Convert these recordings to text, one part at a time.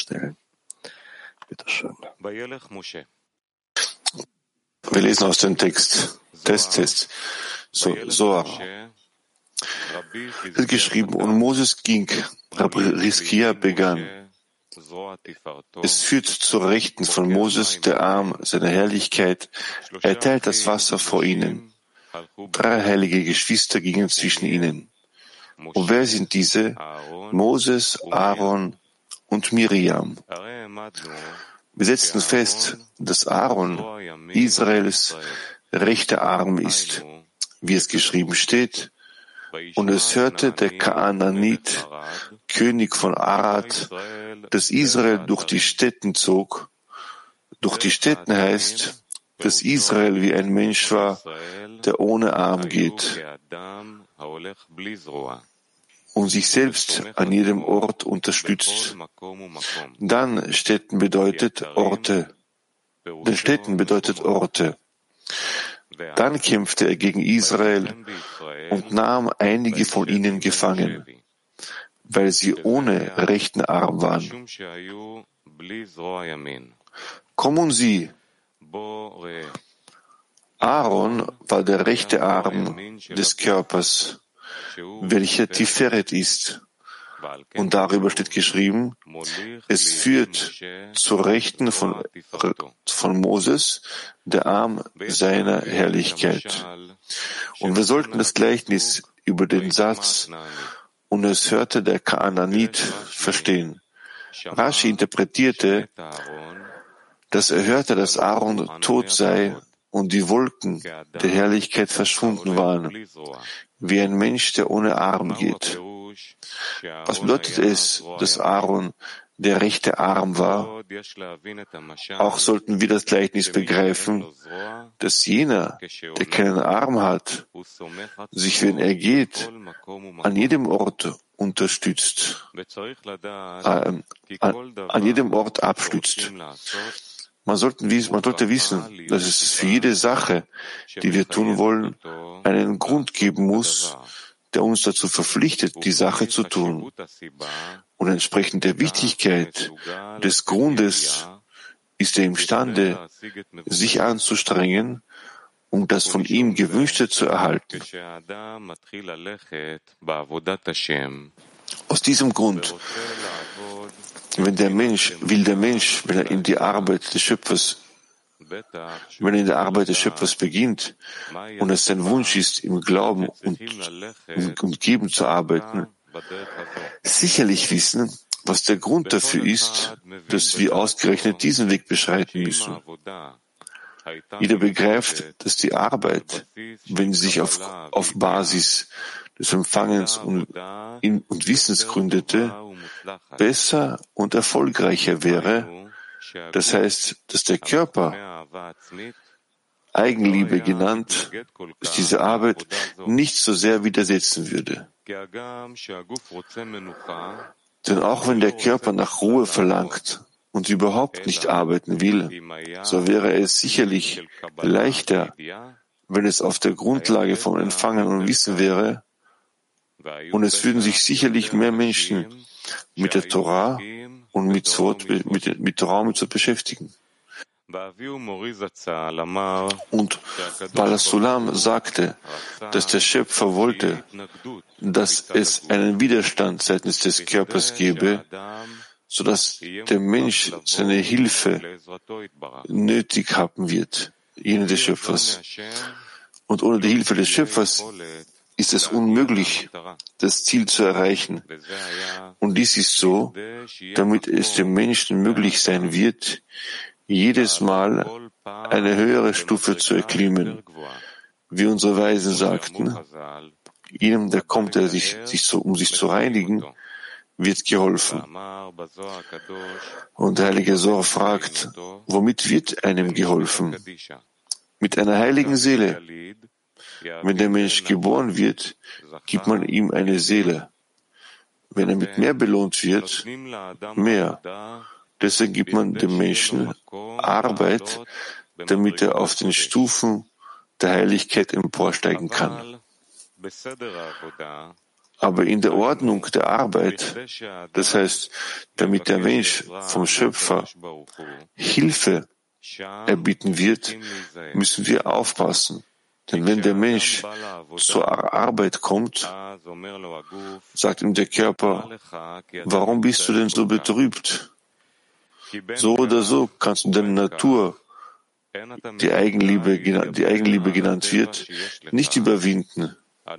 stellen. Bitte schön. Wir lesen aus dem Text. Test. Zohar. Es wird geschrieben, und Moses ging, Rabbi Rizkia begann. Es führt zur Rechten von Moses der Arm seiner Herrlichkeit. Er teilt das Wasser vor ihnen. 3 heilige Geschwister gingen zwischen ihnen. Und wer sind diese? Moses, Aaron und Miriam. Wir setzten fest, dass Aaron Israels rechter Arm ist, wie es geschrieben steht. Und es hörte der Kanaanit, König von Arad, dass Israel durch die Städten zog. Durch die Städten heißt, dass Israel wie ein Mensch war, der ohne Arm geht und sich selbst an jedem Ort unterstützt. Dann Städten bedeutet Orte. Dann kämpfte er gegen Israel und nahm einige von ihnen gefangen, weil sie ohne rechten Arm waren. Kommen Sie. Aaron war der rechte Arm des Körpers, welcher Tiferet ist. Und darüber steht geschrieben, es führt zur Rechten von Moses der Arm seiner Herrlichkeit. Und wir sollten das Gleichnis über den Satz, und es hörte der Kanaanit, verstehen. Rashi interpretierte, dass er hörte, dass Aaron tot sei und die Wolken der Herrlichkeit verschwunden waren, wie ein Mensch, der ohne Arm geht. Was bedeutet es, dass Aaron der rechte Arm war? Auch sollten wir das Gleichnis begreifen, dass jener, der keinen Arm hat, sich, wenn er geht, an jedem Ort unterstützt, an jedem Ort abstützt. Man sollte wissen, dass es für jede Sache, die wir tun wollen, einen Grund geben muss, der uns dazu verpflichtet, die Sache zu tun. Und entsprechend der Wichtigkeit des Grundes ist er imstande, sich anzustrengen, um das von ihm Gewünschte zu erhalten. Aus diesem Grund, wenn der Mensch, wenn er in der Arbeit des Schöpfers beginnt und es sein Wunsch ist, im Glauben und Geben zu arbeiten, sicherlich wissen, was der Grund dafür ist, dass wir ausgerechnet diesen Weg beschreiten müssen. Jeder begreift, dass die Arbeit, wenn sie sich auf Basis des Empfangens und Wissens gründete, besser und erfolgreicher wäre. Das heißt, dass der Körper, Eigenliebe genannt, diese Arbeit nicht so sehr widersetzen würde. Denn auch wenn der Körper nach Ruhe verlangt und überhaupt nicht arbeiten will, so wäre es sicherlich leichter, wenn es auf der Grundlage von Empfangen und Wissen wäre, und es würden sich sicherlich mehr Menschen mit der Torah und mit Torah und Mitzvot beschäftigen. Und Baal Sulam sagte, dass der Schöpfer wollte, dass es einen Widerstand seitens des Körpers gebe, sodass der Mensch seine Hilfe nötig haben wird, jene des Schöpfers. Und ohne die Hilfe des Schöpfers ist es unmöglich, das Ziel zu erreichen. Und dies ist so, damit es dem Menschen möglich sein wird, jedes Mal eine höhere Stufe zu erklimmen. Wie unsere Weisen sagten, jedem, der kommt, um sich zu reinigen, wird geholfen. Und der heilige Zohar fragt, womit wird einem geholfen? Mit einer heiligen Seele. Wenn der Mensch geboren wird, gibt man ihm eine Seele. Wenn er mit mehr belohnt wird, mehr. Deswegen gibt man dem Menschen Arbeit, damit er auf den Stufen der Heiligkeit emporsteigen kann. Aber in der Ordnung der Arbeit, das heißt, damit der Mensch vom Schöpfer Hilfe erbitten wird, müssen wir aufpassen. Denn wenn der Mensch zur Arbeit kommt, sagt ihm der Körper, warum bist du denn so betrübt? So oder so kannst du deine Natur, die Eigenliebe genannt wird, nicht überwinden.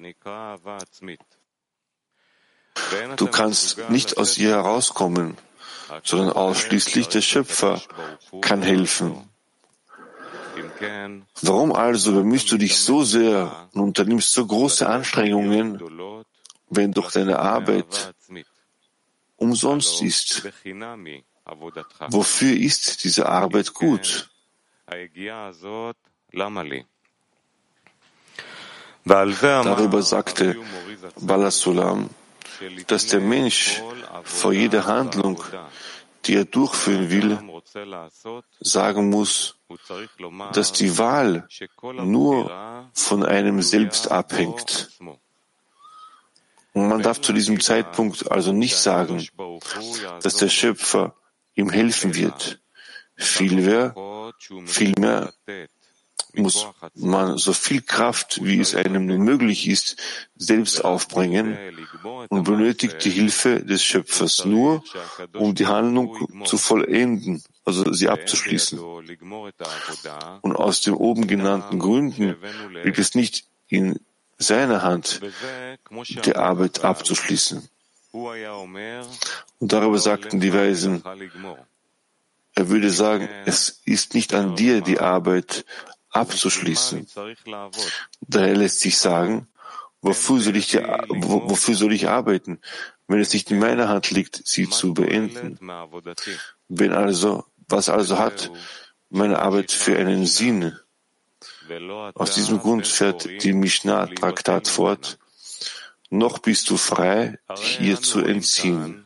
Du kannst nicht aus ihr herauskommen, sondern ausschließlich der Schöpfer kann helfen. Warum also bemühst du dich so sehr und unternimmst so große Anstrengungen, wenn doch deine Arbeit umsonst ist? Wofür ist diese Arbeit gut? Darüber sagte Baal HaSulam, dass der Mensch vor jeder Handlung, die er durchführen will, sagen muss, dass die Wahl nur von einem selbst abhängt. Und man darf zu diesem Zeitpunkt also nicht sagen, dass der Schöpfer ihm helfen wird. Vielmehr muss man so viel Kraft, wie es einem nur möglich ist, selbst aufbringen und benötigt die Hilfe des Schöpfers nur, um die Handlung zu vollenden, also sie abzuschließen. Und aus den oben genannten Gründen liegt es nicht in seiner Hand, die Arbeit abzuschließen. Und darüber sagten die Weisen, er würde sagen, es ist nicht an dir, die Arbeit abzuschließen. Daher lässt sich sagen, wofür soll ich arbeiten, wenn es nicht in meiner Hand liegt, sie zu beenden? Was also hat meine Arbeit für einen Sinn? Aus diesem Grund fährt die Mishnah-Traktat fort, noch bist du frei, dich ihr zu entziehen.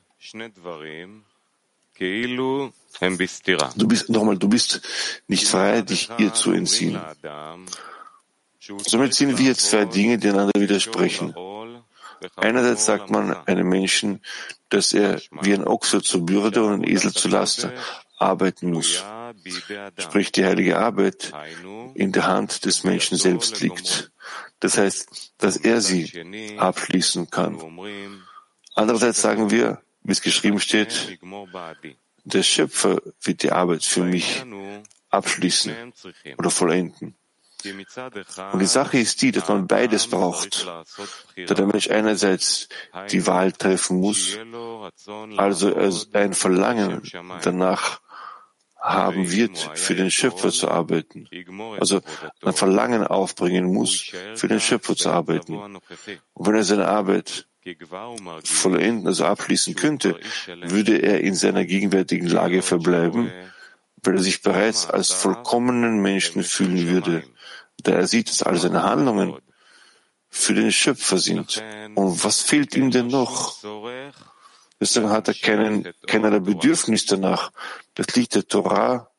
Du bist nicht frei, dich ihr zu entziehen. Somit sehen wir zwei Dinge, die einander widersprechen. Einerseits sagt man einem Menschen, dass er wie ein Ochse zur Bürde und ein Esel zur Last arbeiten muss. Sprich, die heilige Arbeit in der Hand des Menschen selbst liegt. Das heißt, dass er sie abschließen kann. Andererseits sagen wir, wie es geschrieben steht, der Schöpfer wird die Arbeit für mich abschließen oder vollenden. Und die Sache ist die, dass man beides braucht, da der Mensch einerseits die Wahl treffen muss, also ein Verlangen danach haben wird, für den Schöpfer zu arbeiten, also ein Verlangen aufbringen muss, für den Schöpfer zu arbeiten. Und wenn er seine Arbeit vollenden, also abschließen könnte, würde er in seiner gegenwärtigen Lage verbleiben, weil er sich bereits als vollkommenen Menschen fühlen würde, da er sieht, dass all seine Handlungen für den Schöpfer sind. Und was fehlt ihm denn noch? Deswegen hat er keinerlei Bedürfnis danach, das Licht der Torah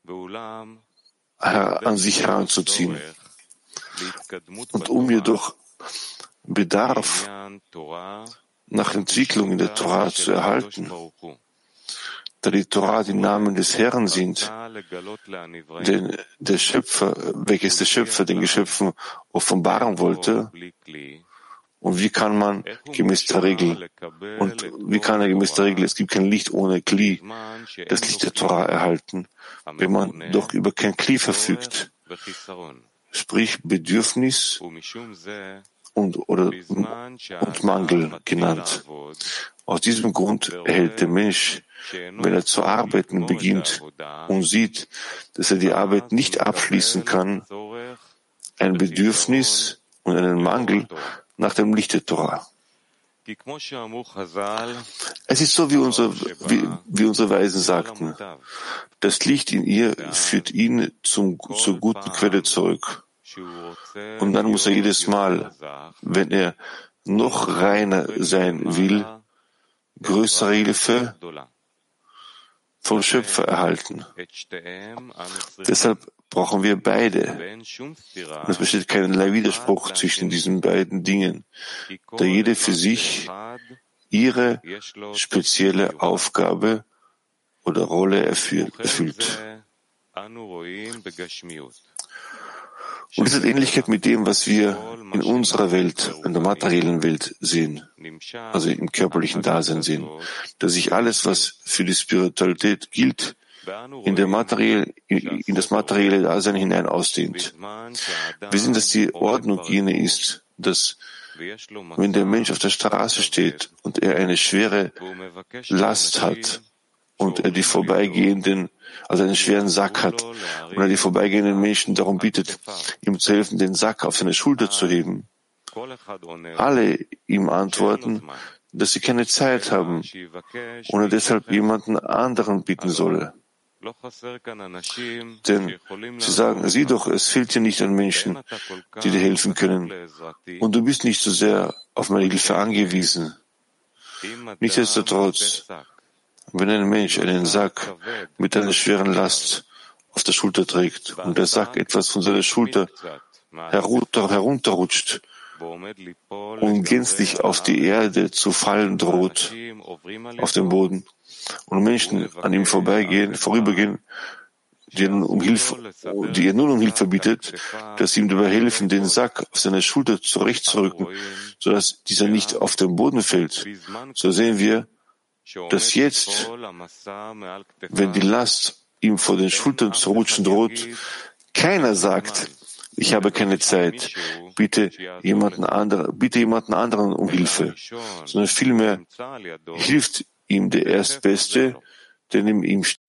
an sich heranzuziehen. Und jedoch Bedarf nach Entwicklung in der Torah zu erhalten, da die Torah die Namen des Herrn sind, denn der Schöpfer, welches der Schöpfer den Geschöpfen offenbaren wollte. Und wie kann man gemäß der Regel, es gibt kein Licht ohne Kli, das Licht der Torah erhalten, wenn man doch über kein Kli verfügt, sprich Bedürfnis und Mangel genannt. Aus diesem Grund erhält der Mensch, wenn er zu arbeiten beginnt und sieht, dass er die Arbeit nicht abschließen kann, ein Bedürfnis und einen Mangel nach dem Licht der Torah. Es ist so, wie unsere Weisen sagten, das Licht in ihr führt ihn zur guten Quelle zurück. Und dann muss er jedes Mal, wenn er noch reiner sein will, größere Hilfe vom Schöpfer erhalten. Deshalb brauchen wir beide. Und es besteht keinerlei Widerspruch zwischen diesen beiden Dingen, da jede für sich ihre spezielle Aufgabe oder Rolle erfüllt. Und es hat Ähnlichkeit mit dem, was wir in unserer Welt, in der materiellen Welt sehen, also im körperlichen Dasein sehen, dass sich alles, was für die Spiritualität gilt, in das materielle Dasein hinein ausdehnt. Wir sehen, dass die Ordnung jene ist, dass wenn der Mensch auf der Straße steht und er eine schwere Last hat und er die vorbeigehenden, also einen schweren Sack hat und er die vorbeigehenden Menschen darum bittet, ihm zu helfen, den Sack auf seine Schulter zu heben, alle ihm antworten, dass sie keine Zeit haben und er deshalb jemanden anderen bitten solle. Denn sie sagen, sieh doch, es fehlt dir nicht an Menschen, die dir helfen können. Und du bist nicht so sehr auf meine Hilfe angewiesen. Nichtsdestotrotz, wenn ein Mensch einen Sack mit einer schweren Last auf der Schulter trägt und der Sack etwas von seiner Schulter herunterrutscht und gänzlich auf die Erde zu fallen droht, auf dem Boden, und Menschen an ihm vorübergehen, die er nun um Hilfe bittet, dass sie ihm dabei helfen, den Sack auf seine Schulter zurechtzurücken, sodass dieser nicht auf den Boden fällt. So sehen wir, dass jetzt, wenn die Last ihm vor den Schultern zu rutschen droht, keiner sagt, ich habe keine Zeit, bitte jemanden anderen um Hilfe, sondern vielmehr hilft ihm der Erstbeste, der neben ihm steht.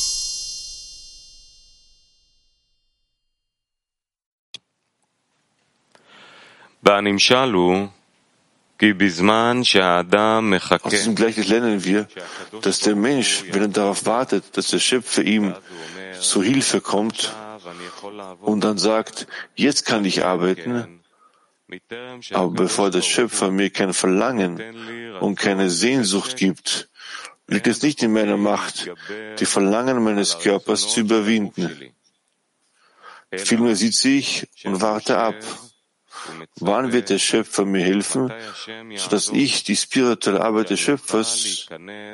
Aus diesem Gleichnis lernen wir, dass der Mensch, wenn er darauf wartet, dass der Schöpfer ihm zur Hilfe kommt und dann sagt, jetzt kann ich arbeiten, aber bevor der Schöpfer mir kein Verlangen und keine Sehnsucht gibt, liegt es nicht in meiner Macht, die Verlangen meines Körpers zu überwinden. Vielmehr sitze ich und warte ab. Wann wird der Schöpfer mir helfen, sodass ich in die spirituelle Arbeit des Schöpfers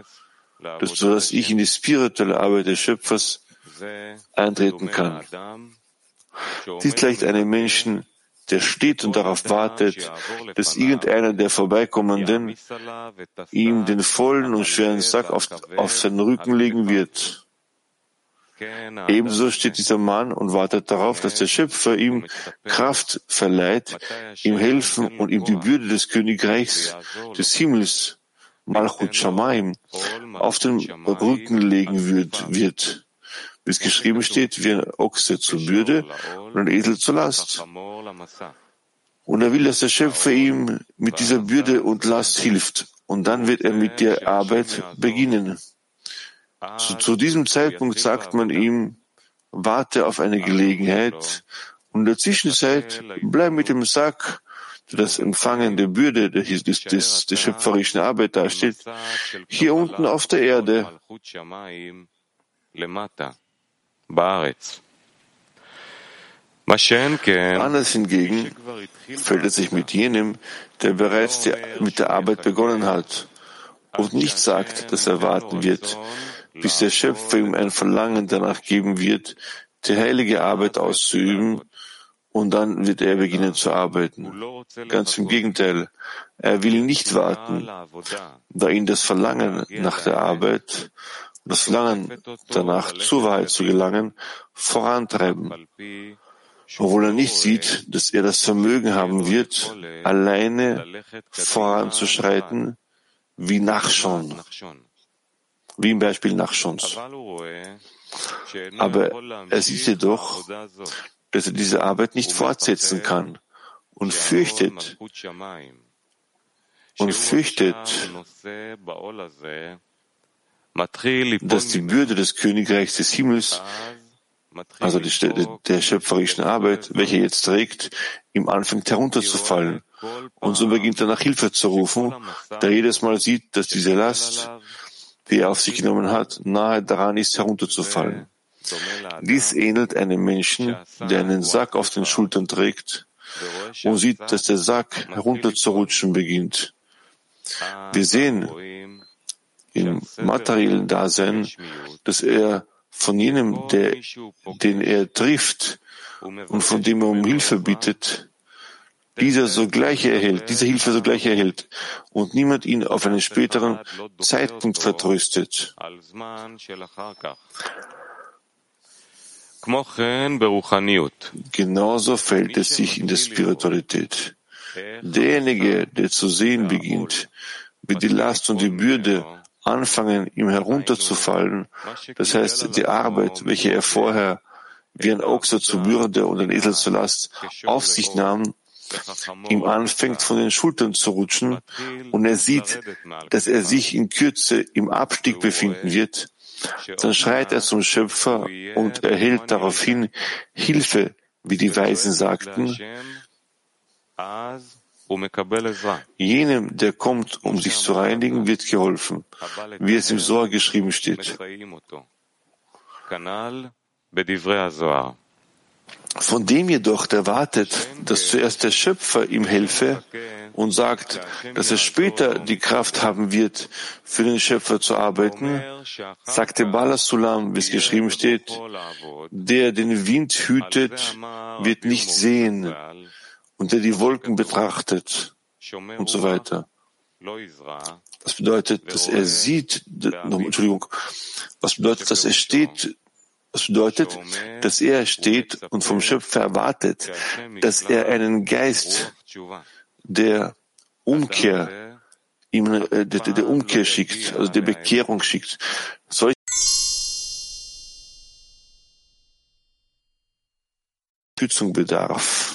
eintreten kann? Dies gleicht einem Menschen, der steht und darauf wartet, dass irgendeiner der Vorbeikommenden ihm den vollen und schweren Sack auf seinen Rücken legen wird. Ebenso steht dieser Mann und wartet darauf, dass der Schöpfer ihm Kraft verleiht, ihm helfen und ihm die Bürde des Königreichs des Himmels, Malchut Shamayim, auf den Rücken legen wird, wie es geschrieben steht, wie ein Ochse zur Bürde und ein Esel zur Last. Und er will, dass der Schöpfer ihm mit dieser Bürde und Last hilft. Und dann wird er mit der Arbeit beginnen. Zu diesem Zeitpunkt sagt man ihm, warte auf eine Gelegenheit und in der Zwischenzeit bleib mit dem Sack, der das Empfangen der Bürde der schöpferischen Arbeit darstellt, hier unten auf der Erde. Anders hingegen fällt es sich mit jenem, der bereits mit der Arbeit begonnen hat und nicht sagt, dass er warten wird, bis der Schöpfer ihm ein Verlangen danach geben wird, die heilige Arbeit auszuüben, und dann wird er beginnen zu arbeiten. Ganz im Gegenteil, er will nicht warten, da ihn das Verlangen nach der Arbeit, das Verlangen danach zur Wahrheit zu gelangen, vorantreiben, obwohl er nicht sieht, dass er das Vermögen haben wird, alleine voranzuschreiten, wie Nachschon, wie im Beispiel Nachschons. Aber er sieht jedoch, dass er diese Arbeit nicht fortsetzen kann und fürchtet, dass die Bürde des Königreichs des Himmels, also der schöpferischen Arbeit, welche er jetzt trägt, ihm anfängt herunterzufallen. Und so beginnt er nach Hilfe zu rufen, da er jedes Mal sieht, dass diese Last die er auf sich genommen hat, nahe daran ist, herunterzufallen. Dies ähnelt einem Menschen, der einen Sack auf den Schultern trägt und sieht, dass der Sack herunterzurutschen beginnt. Wir sehen im materiellen Dasein, dass er von jenem, den er trifft und von dem er um Hilfe bittet, diese Hilfe sogleich erhält und niemand ihn auf einen späteren Zeitpunkt vertröstet. Genauso verhält es sich in der Spiritualität. Derjenige, der zu sehen beginnt, wie die Last und die Bürde anfangen, ihm herunterzufallen, das heißt, die Arbeit, welche er vorher wie ein Ochse zur Bürde und ein Esel zur Last auf sich nahm, ihm anfängt, von den Schultern zu rutschen und er sieht, dass er sich in Kürze im Abstieg befinden wird, dann schreit er zum Schöpfer und erhält daraufhin Hilfe, wie die Weisen sagten. Jenem, der kommt, um sich zu reinigen, wird geholfen, wie es im Zohar geschrieben steht. Von dem jedoch, der wartet, dass zuerst der Schöpfer ihm helfe und sagt, dass er später die Kraft haben wird, für den Schöpfer zu arbeiten, sagte Baal HaSulam, wie es geschrieben steht, der den Wind hütet, wird nicht sehen, und der die Wolken betrachtet, und so weiter. Das bedeutet, dass er sieht, was bedeutet, dass er steht, was bedeutet, dass er steht und vom Schöpfer erwartet, dass er einen Geist der Umkehr, der Umkehr schickt, also der Bekehrung schickt. Solche Unterstützung bedarf.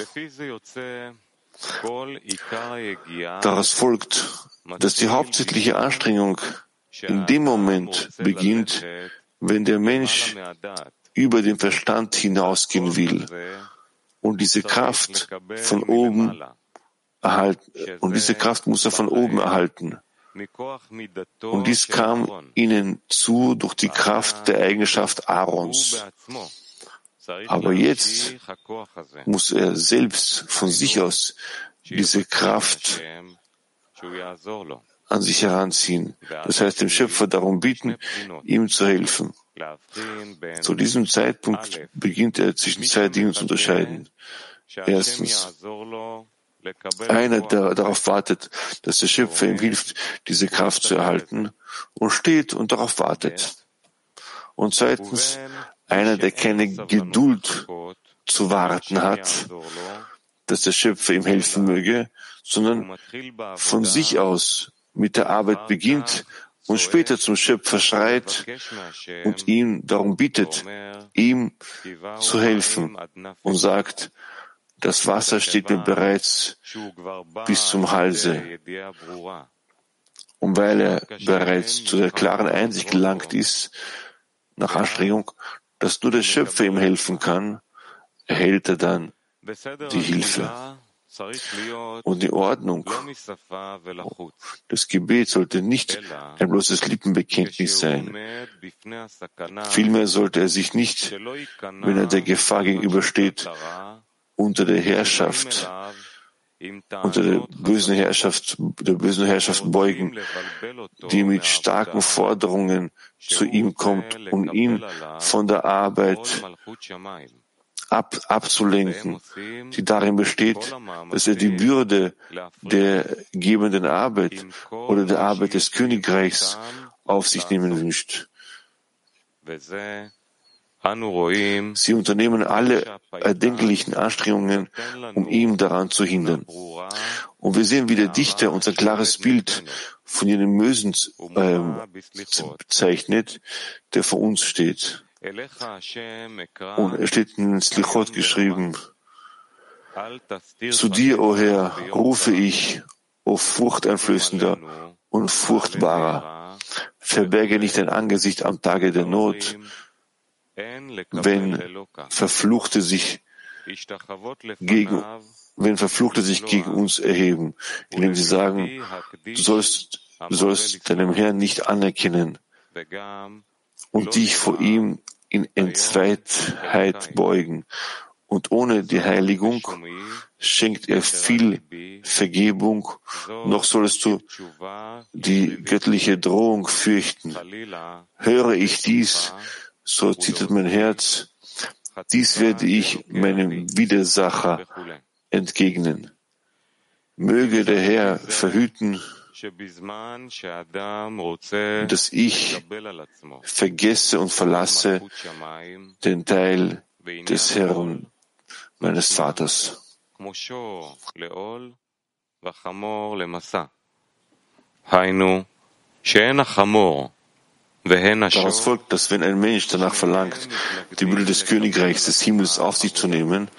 Daraus folgt, dass die hauptsächliche Anstrengung in dem Moment beginnt, wenn der Mensch über den Verstand hinausgehen will und diese Kraft von oben erhalten, und diese Kraft muss er von oben erhalten. Und dies kam ihnen zu durch die Kraft der Eigenschaft Aarons. Aber jetzt muss er selbst von sich aus diese Kraft an sich heranziehen. Das heißt, dem Schöpfer darum bitten, ihm zu helfen. Zu diesem Zeitpunkt beginnt er zwischen zwei Dingen zu unterscheiden. Erstens, einer, der darauf wartet, dass der Schöpfer ihm hilft, diese Kraft zu erhalten, und steht und darauf wartet. Und zweitens, einer, der keine Geduld zu warten hat, dass der Schöpfer ihm helfen möge, sondern von sich aus mit der Arbeit beginnt und später zum Schöpfer schreit und ihn darum bittet, ihm zu helfen und sagt, das Wasser steht mir bereits bis zum Halse. Und weil er bereits zu der klaren Einsicht gelangt ist, nach Anstrengung, dass nur der Schöpfer ihm helfen kann, erhält er dann die Hilfe. Und die Ordnung des Gebets sollte nicht ein bloßes Lippenbekenntnis sein. Vielmehr sollte er sich nicht, wenn er der Gefahr gegenübersteht, unter der bösen Herrschaft beugen, die mit starken Forderungen zu ihm kommt, um ihn von der Arbeit abzulenken, die darin besteht, dass er die Bürde der gebenden Arbeit oder der Arbeit des Königreichs auf sich nehmen wünscht. Sie unternehmen alle erdenklichen Anstrengungen, um ihn daran zu hindern. Und wir sehen, wie der Dichter uns ein klares Bild von jenem Mösen zeichnet, der vor uns steht. Und es steht in Slichot geschrieben, zu dir, o Herr, rufe ich, o furchteinflößender und furchtbarer. Verberge nicht dein Angesicht am Tage der Not, wenn Verfluchte sich gegen uns erheben, indem sie sagen, du sollst deinem Herrn nicht anerkennen, und dich vor ihm in Entzweitheit beugen. Und ohne die Heiligung schenkt er viel Vergebung, noch sollst du die göttliche Drohung fürchten. Höre ich dies, so zittert mein Herz, dies werde ich meinem Widersacher entgegnen. Möge der Herr verhüten, dass ich vergesse und verlasse den Teil des Herrn, meines Vaters. Daraus folgt, dass wenn ein Mensch danach verlangt, die Bürde des Königreichs des Himmels auf sich zu nehmen,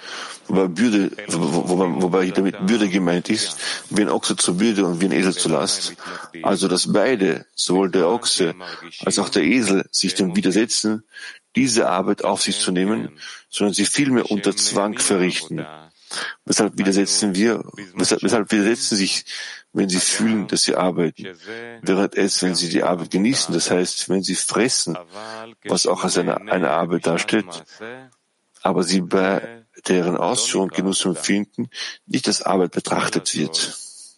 wobei damit Bürde gemeint ist, wie ein Ochse zur Bürde und wie ein Esel zur Last, also dass beide, sowohl der Ochse als auch der Esel, sich dem widersetzen, diese Arbeit auf sich zu nehmen, sondern sie vielmehr unter Zwang verrichten. Weshalb widersetzen sich, wenn sie fühlen, dass sie arbeiten, während es, wenn sie die Arbeit genießen, das heißt, wenn sie fressen, was auch als eine Arbeit darstellt, aber sie bei deren Ausführung Genuss empfinden, nicht als Arbeit betrachtet wird.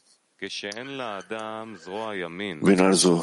Wenn also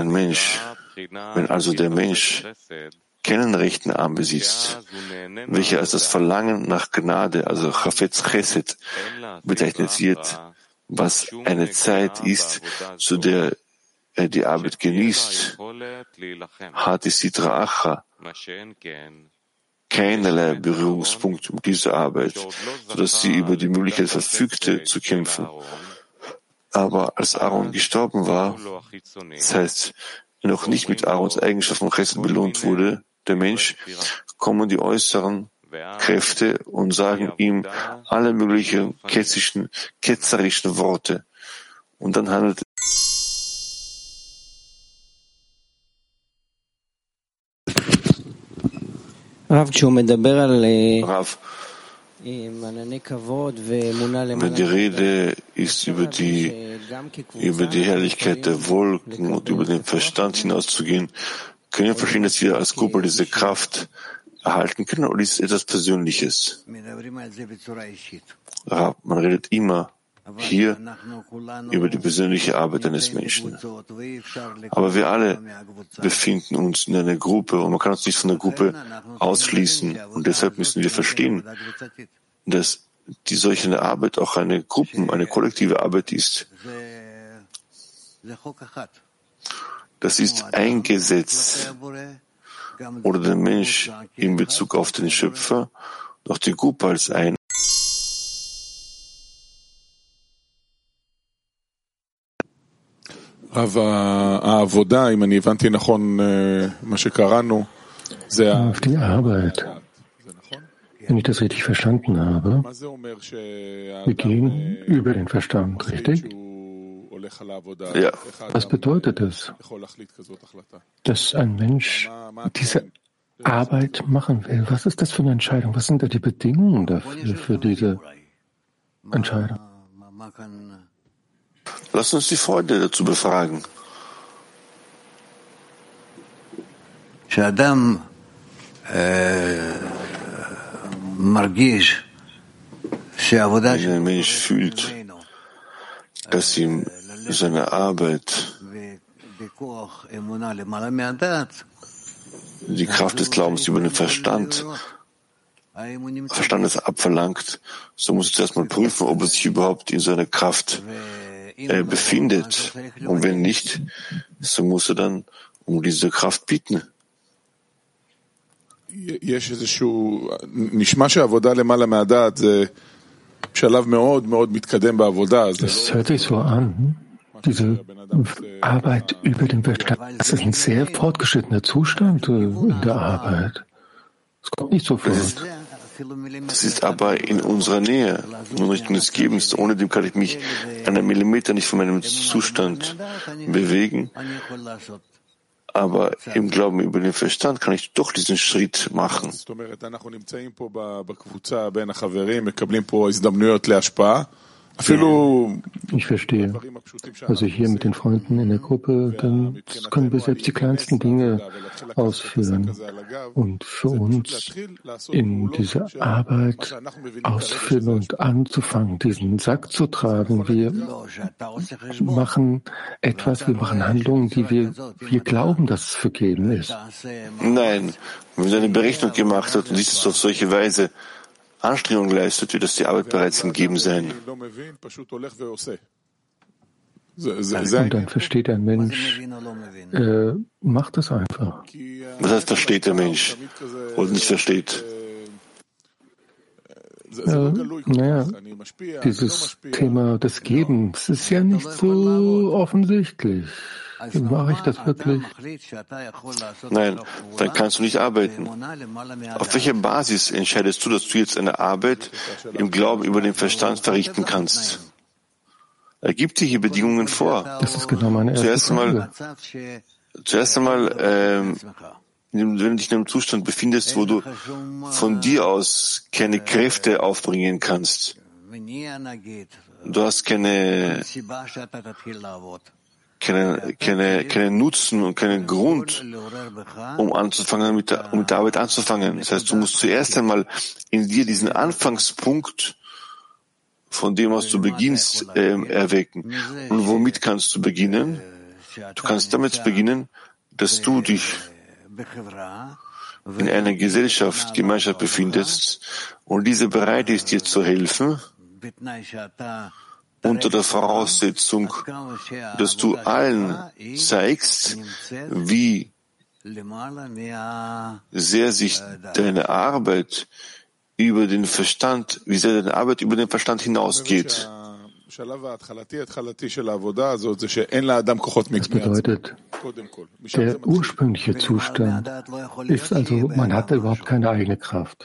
der Mensch keinen rechten Arm besitzt, welcher als das Verlangen nach Gnade, also Chafetz Chesed, bezeichnet wird, was eine Zeit ist, zu der er die Arbeit genießt, hat die Sitra Achra keinerlei Berührungspunkt mit dieser Arbeit, sodass sie über die Möglichkeit verfügte, zu kämpfen. Aber als Aaron gestorben war, das heißt, noch nicht mit Aarons Eigenschaften Chesed belohnt wurde, der Mensch, kommen die äußeren Kräfte und sagen ihm alle möglichen ketzerischen Worte. Und dann handelt Rav, wenn die Rede ist über die Herrlichkeit der Wolken und über den Verstand hinauszugehen, können wir verstehen, dass wir als Gruppe diese Kraft erhalten können, oder ist es etwas Persönliches? Man redet immer hier über die persönliche Arbeit eines Menschen. Aber wir alle befinden uns in einer Gruppe und man kann uns nicht von der Gruppe ausschließen. Und deshalb müssen wir verstehen, dass die solche Arbeit auch eine kollektive Arbeit ist. Das ist ein Gesetz oder der Mensch in Bezug auf den Schöpfer, doch die Gruppe als ein. העבודה, אם אני הבנתי נכון מה שקראנו, זה auf die Arbeit. Wenn ich das richtig verstanden habe, wir gehen über den Verstand, richtig? Ja. Was bedeutet es, dass ein Mensch diese Arbeit machen will? Was ist das für eine Entscheidung? Was sind da die Bedingungen dafür, für diese Entscheidung? Lass uns die Freunde dazu befragen. Wenn ein Mensch fühlt, dass ihm seine Arbeit die Kraft des Glaubens über den Verstandes abverlangt, so muss er zuerst mal prüfen, ob er sich überhaupt in seiner Kraft befindet. Und wenn nicht, so muss er dann um diese Kraft bitten. נשמע שהעבודה למעלה מהדעת זה שלב מאוד מאוד מתקדם בעבודה. Das hört sich so an. Diese Arbeit über den Verstand, das ist ein sehr fortgeschrittener Zustand in der Arbeit. Es kommt nicht sofort. Das ist aber in unserer Nähe, in Richtung des Gebens. Ohne dem kann ich mich einen Millimeter nicht von meinem Zustand bewegen. Aber im Glauben über den Verstand kann ich doch diesen Schritt machen. Ich verstehe. Also hier mit den Freunden in der Gruppe, dann können wir selbst die kleinsten Dinge ausführen. Und für uns in dieser Arbeit auszuführen und anzufangen, diesen Sack zu tragen. Wir machen etwas, wir machen Handlungen, die wir glauben, dass es vergeben ist. Nein, wenn man eine Berechnung gemacht hat und dies ist auf solche Weise Anstrengung leistet, wird das die Arbeit bereits gegeben sein. Und dann versteht ein Mensch, macht das einfach. Was heißt, versteht der Mensch oder nicht versteht? Dieses Thema des Gebens ist ja nicht so offensichtlich. Wie mache ich das wirklich? Nein, dann kannst du nicht arbeiten. Auf welcher Basis entscheidest du, dass du jetzt eine Arbeit im Glauben über den Verstand verrichten kannst? Er gibt dir hier Bedingungen vor. Das ist genau meine erste Frage. Zuerst einmal, wenn du dich in einem Zustand befindest, wo du von dir aus keine Kräfte aufbringen kannst. Du hast keinen Nutzen und keinen Grund, um anzufangen, mit der Arbeit anzufangen. Das heißt, du musst zuerst einmal in dir diesen Anfangspunkt, von dem aus du beginnst, erwecken. Und womit kannst du beginnen? Du kannst damit beginnen, dass du dich in einer Gemeinschaft befindest und diese bereit ist, dir zu helfen, unter der Voraussetzung, dass du allen zeigst, wie sehr sich deine Arbeit über den Verstand, hinausgeht. Das bedeutet, der ursprüngliche Zustand ist also, man hat überhaupt keine eigene Kraft.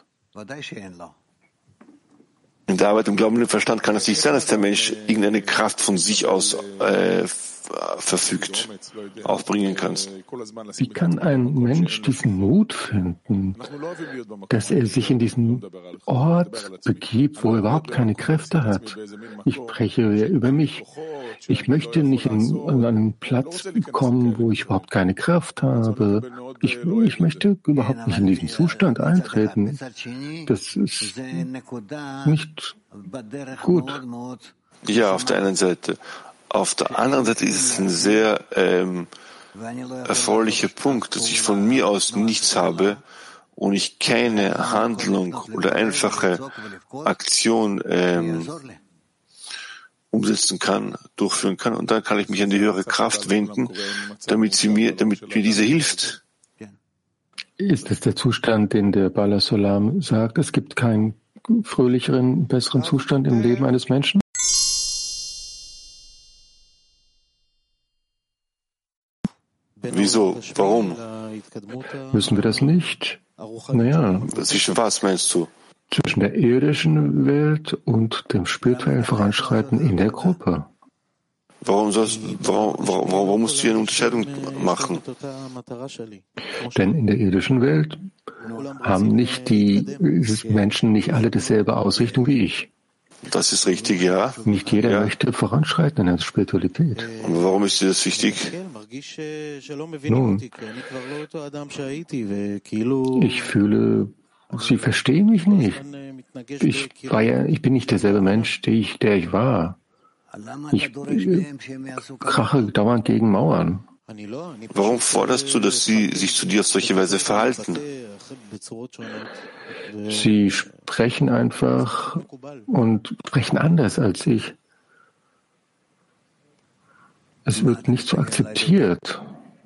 In der Arbeit im Glauben und im Verstand kann es nicht sein, dass der Mensch irgendeine Kraft von sich aus verfügt, aufbringen kannst. Wie kann ein Mensch diesen Mut finden, dass er sich in diesen Ort begibt, wo er überhaupt keine Kräfte hat? Ich spreche über mich. Ich möchte nicht an einen Platz kommen, wo ich überhaupt keine Kraft habe. Ich möchte überhaupt nicht in diesen Zustand eintreten. Das ist nicht gut. Ja, auf der einen Seite. Auf der anderen Seite ist es ein sehr erfreulicher Punkt, dass ich von mir aus nichts habe und ich keine Handlung oder einfache Aktion umsetzen kann, durchführen kann. Und dann kann ich mich an die höhere Kraft wenden, damit mir diese hilft. Ist es der Zustand, den der Bala Solam sagt, es gibt keinen fröhlicheren, besseren Zustand im Leben eines Menschen? Wieso? Warum? Müssen wir das nicht? Naja. Zwischen was meinst du? Zwischen der irdischen Welt und dem spirituellen Voranschreiten in der Gruppe. Warum musst du hier eine Unterscheidung machen? Denn in der irdischen Welt haben nicht die Menschen nicht alle dieselbe Ausrichtung wie ich. Das ist richtig, ja. Nicht jeder möchte voranschreiten in der Spiritualität. Und warum ist dir das wichtig? Nun, ich fühle, sie verstehen mich nicht. Ich bin nicht derselbe Mensch, der ich war. Ich krache dauernd gegen Mauern. Warum forderst du, dass sie sich zu dir auf solche Weise verhalten? Sie sprechen einfach und sprechen anders als ich. Es wird nicht so akzeptiert.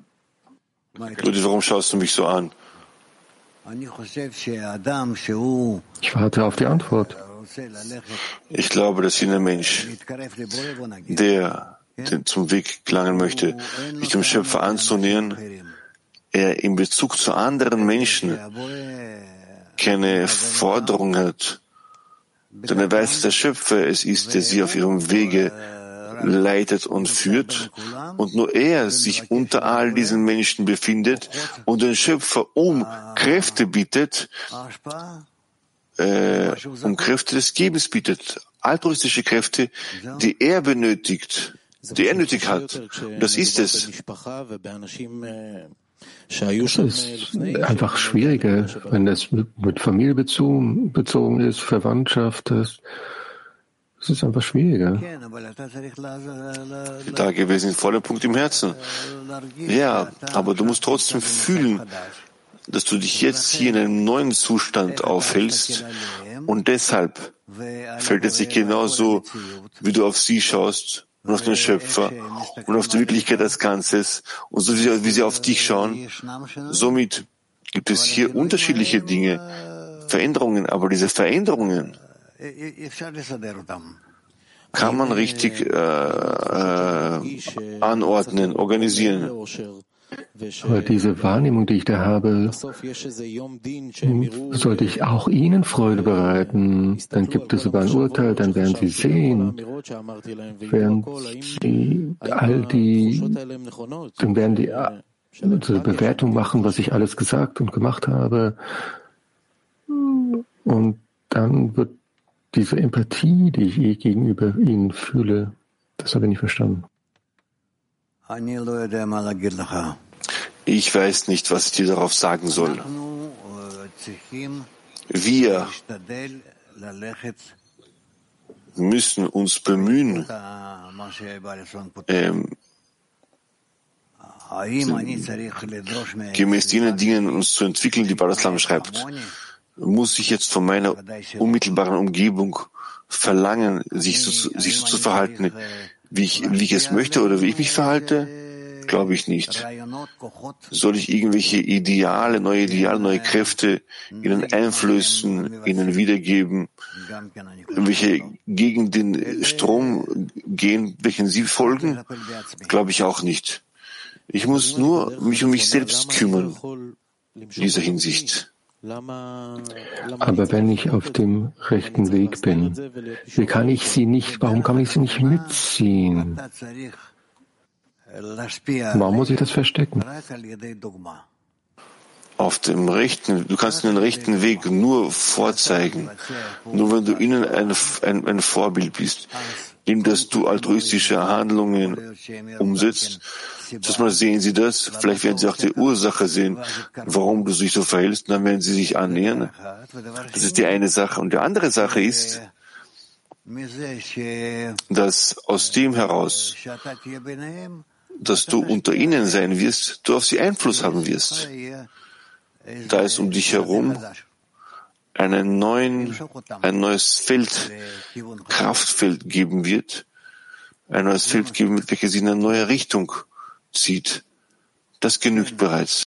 Warum schaust du mich so an? Ich warte auf die Antwort. Ich glaube, dass jener Mensch, der zum Weg gelangen möchte, sich dem Schöpfer anzunähern, er in Bezug zu anderen Menschen keine Forderung hat, denn er weiß, dass der Schöpfer es ist, der sie auf ihrem Wege leitet und führt, und nur er sich unter all diesen Menschen befindet und den Schöpfer um Kräfte bittet, um Kräfte des Gebens bittet, altruistische Kräfte, die er benötigt, die er nötig hat. Das ist es. Das ist einfach schwieriger, wenn das mit Familie bezogen ist, Verwandtschaft ist. Es ist einfach schwieriger. Da gewesen ist voller Punkt im Herzen. Ja, aber du musst trotzdem fühlen, dass du dich jetzt hier in einem neuen Zustand aufhältst und deshalb fällt es sich genauso, wie du auf sie schaust und auf den Schöpfer und auf die Wirklichkeit als Ganzes und so wie sie auf dich schauen. Somit gibt es hier unterschiedliche Dinge, Veränderungen, aber diese Veränderungen kann man richtig anordnen, organisieren. Aber diese Wahrnehmung, die ich da habe, sollte ich auch Ihnen Freude bereiten. Dann gibt es sogar ein Urteil, dann werden Sie sehen, dann werden die eine Bewertung machen, was ich alles gesagt und gemacht habe. Und dann wird diese Empathie, die ich gegenüber Ihnen fühle, das habe ich nicht verstanden. Ich weiß nicht, was ich dir darauf sagen soll. Wir müssen uns bemühen, gemäß jenen Dingen uns zu entwickeln, die Baal-Islam schreibt. Muss ich jetzt von meiner unmittelbaren Umgebung verlangen, sich so zu verhalten, wie ich es möchte oder wie ich mich verhalte? Glaube ich nicht. Soll ich irgendwelche neue Kräfte ihnen einflößen, ihnen wiedergeben, welche gegen den Strom gehen, welchen sie folgen? Glaube ich auch nicht. Ich muss nur mich um mich selbst kümmern in dieser Hinsicht. Aber wenn ich auf dem rechten Weg bin, warum kann ich sie nicht mitziehen? Warum muss ich das verstecken? Du kannst den rechten Weg nur vorzeigen. Nur wenn du ihnen ein Vorbild bist, indem dass du altruistische Handlungen umsetzt. Zuerst mal sehen sie das, vielleicht werden sie auch die Ursache sehen, warum du dich so verhältst, und dann werden sie sich annähern. Das ist die eine Sache. Und die andere Sache ist, dass aus dem heraus, dass du unter ihnen sein wirst, du auf sie Einfluss haben wirst. Da es um dich herum ein neues Feld, Kraftfeld geben wird, ein neues Feld geben wird, welches sie in eine neue Richtung zieht. Das genügt bereits.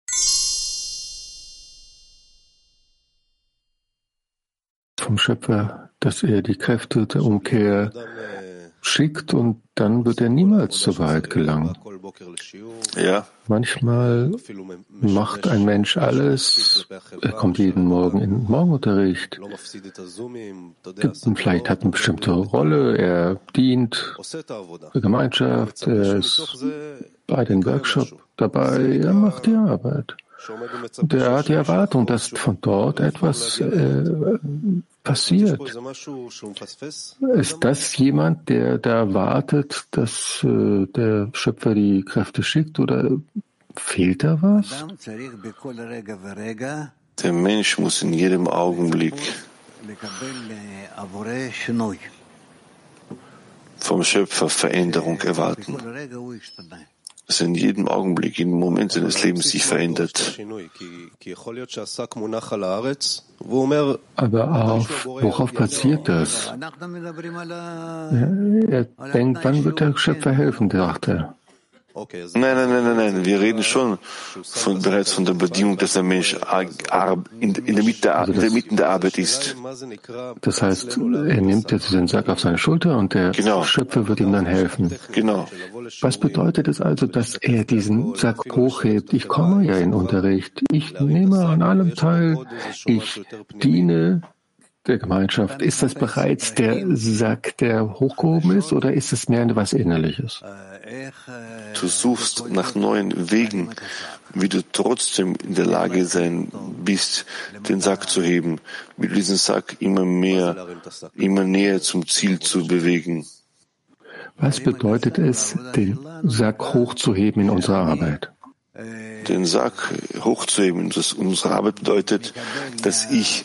Vom Schöpfer, dass er die Kräfte der Umkehr schickt und dann wird er niemals zur Wahrheit gelangen. Ja. Manchmal macht ein Mensch alles, er kommt jeden Morgen in den Morgenunterricht, vielleicht hat eine bestimmte Rolle, er dient der Gemeinschaft, er ist bei den Workshop dabei, er macht die Arbeit. Und er hat die Erwartung, dass von dort etwas passiert. Ist das jemand, der da wartet, dass der Schöpfer die Kräfte schickt, oder fehlt da was? Der Mensch muss in jedem Augenblick vom Schöpfer Veränderung erwarten. Dass in jedem Augenblick, in jedem Moment seines Lebens sich verändert. Aber worauf passiert das? Er denkt, wann wird der Schöpfer helfen, dachte er. Nein. Wir reden schon bereits von der Bedingung, dass der Mensch in der Mitte der Arbeit ist. Das heißt, er nimmt jetzt den Sack auf seine Schulter und der Schöpfer wird ihm dann helfen. Genau. Was bedeutet es also, dass er diesen Sack hochhebt? Ich komme ja in Unterricht. Ich nehme an allem teil. Ich diene der Gemeinschaft. Ist das bereits der Sack, der hochgehoben ist, oder ist es mehr etwas Innerliches? Du suchst nach neuen Wegen, wie du trotzdem in der Lage sein bist, den Sack zu heben, wie du diesen Sack immer näher zum Ziel zu bewegen. Was bedeutet es, den Sack hochzuheben in unserer Arbeit? Den Sack hochzuheben in unserer Arbeit bedeutet, dass ich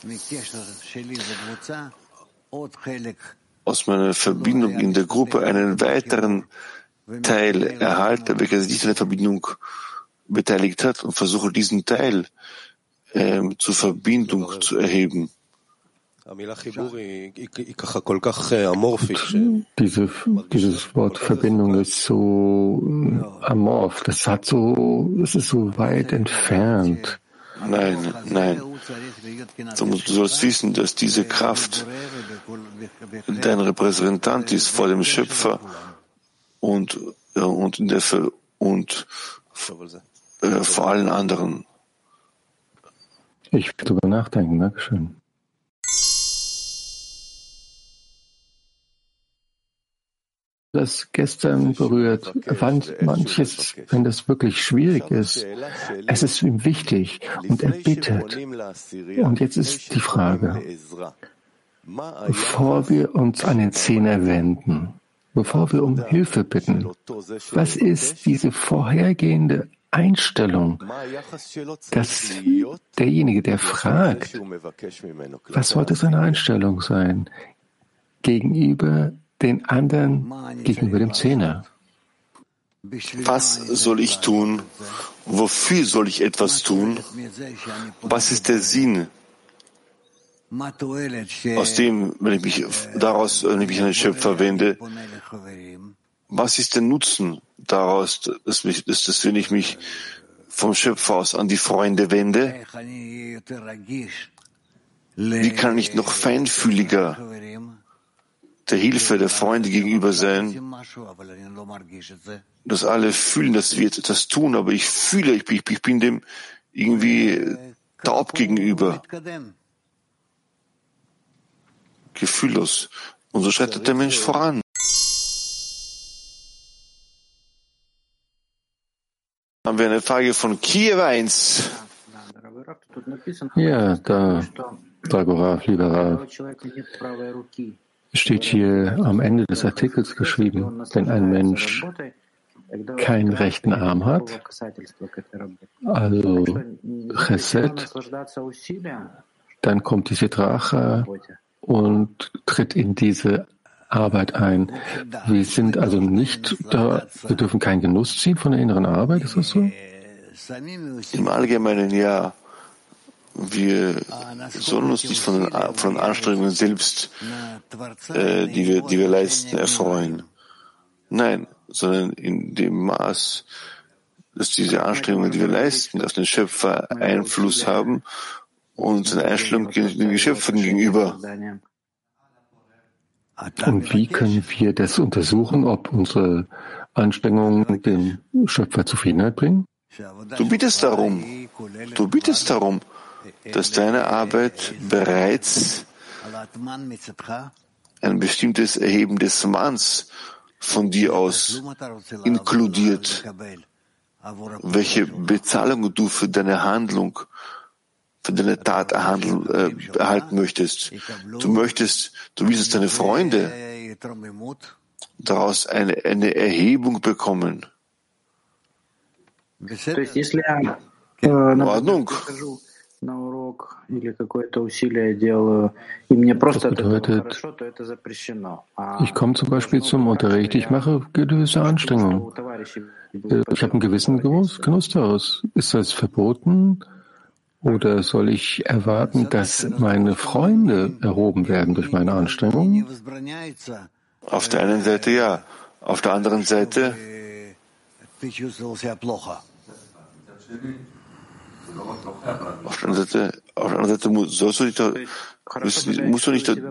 aus meiner Verbindung in der Gruppe einen weiteren Teil erhalte, welcher sich nicht an der Verbindung beteiligt hat, und versuche diesen Teil zur Verbindung zu erheben. Dieses Wort Verbindung ist so amorph, es ist so weit entfernt. Nein. Du sollst wissen, dass diese Kraft dein Repräsentant ist vor dem Schöpfer und vor allen anderen. Ich will darüber nachdenken. Dankeschön. Das gestern berührt, manches, wenn das wirklich schwierig ist, es ist ihm wichtig und er bittet. Und jetzt ist die Frage, bevor wir uns an den Zehner wenden, bevor wir um Hilfe bitten, was ist diese vorhergehende Einstellung, dass derjenige, der fragt, was sollte seine Einstellung sein gegenüber den anderen, gegenüber dem Zehner? Was soll ich tun? Wofür soll ich etwas tun? Was ist der Sinn aus dem, wenn ich mich an den Schöpfer wende? Was ist der Nutzen daraus, dass wenn ich mich vom Schöpfer aus an die Freunde wende? Wie kann ich noch feinfühliger der Hilfe der Freunde gegenüber sein, dass alle fühlen, dass wir etwas tun, aber ich fühle, ich bin dem irgendwie taub gegenüber, gefühllos. Und so schreitet der Mensch voran. Haben wir eine Frage von Kiew 1. Ja, Dragorav, lieber Rav. Es steht hier am Ende des Artikels geschrieben, wenn ein Mensch keinen rechten Arm hat, also Chesed, dann kommt die Sitracha und tritt in diese Arbeit ein. Wir sind also nicht da, wir dürfen keinen Genuss ziehen von der inneren Arbeit, ist das so? Im Allgemeinen ja. Wir sollen uns nicht von Anstrengungen selbst, die wir leisten, erfreuen. Nein, sondern in dem Maß, dass diese Anstrengungen, die wir leisten, auf den Schöpfer Einfluss haben und eine Einstellung den Geschöpfen gegenüber. Und wie können wir das untersuchen, ob unsere Anstrengungen dem Schöpfer Zufriedenheit bringen? Du bittest darum, dass deine Arbeit bereits ein bestimmtes Erheben des Manns von dir aus inkludiert, welche Bezahlung du für deine Handlung, für deine Tat erhalten möchtest. Du willst, dass deine Freunde daraus eine Erhebung bekommen. In Ordnung. Das bedeutet, ich komme zum Beispiel zum Unterricht, ich mache gewisse Anstrengungen. Ich habe einen gewissen Genuss daraus. Ist das verboten? Oder soll ich erwarten, dass meine Freunde erhoben werden durch meine Anstrengungen? Auf der einen Seite ja. Auf der anderen Seite musst du nicht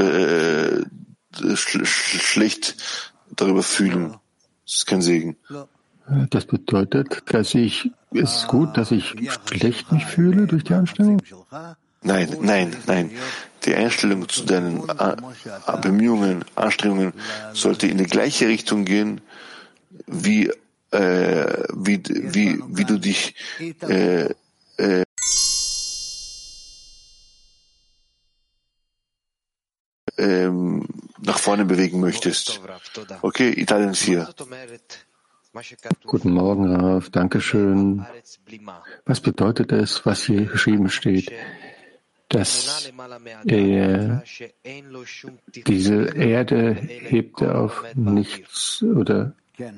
schlecht darüber fühlen. Das ist kein Segen. Das bedeutet, es ist gut, dass ich schlecht mich fühle durch die Anstrengung? Nein. Die Einstellung zu deinen Bemühungen, Anstrengungen sollte in die gleiche Richtung gehen, wie du dich nach vorne bewegen möchtest. Okay, Italien 4. Guten Morgen, Rav. Dankeschön. Was bedeutet es, was hier geschrieben steht, dass diese Erde hebt auf nichts oder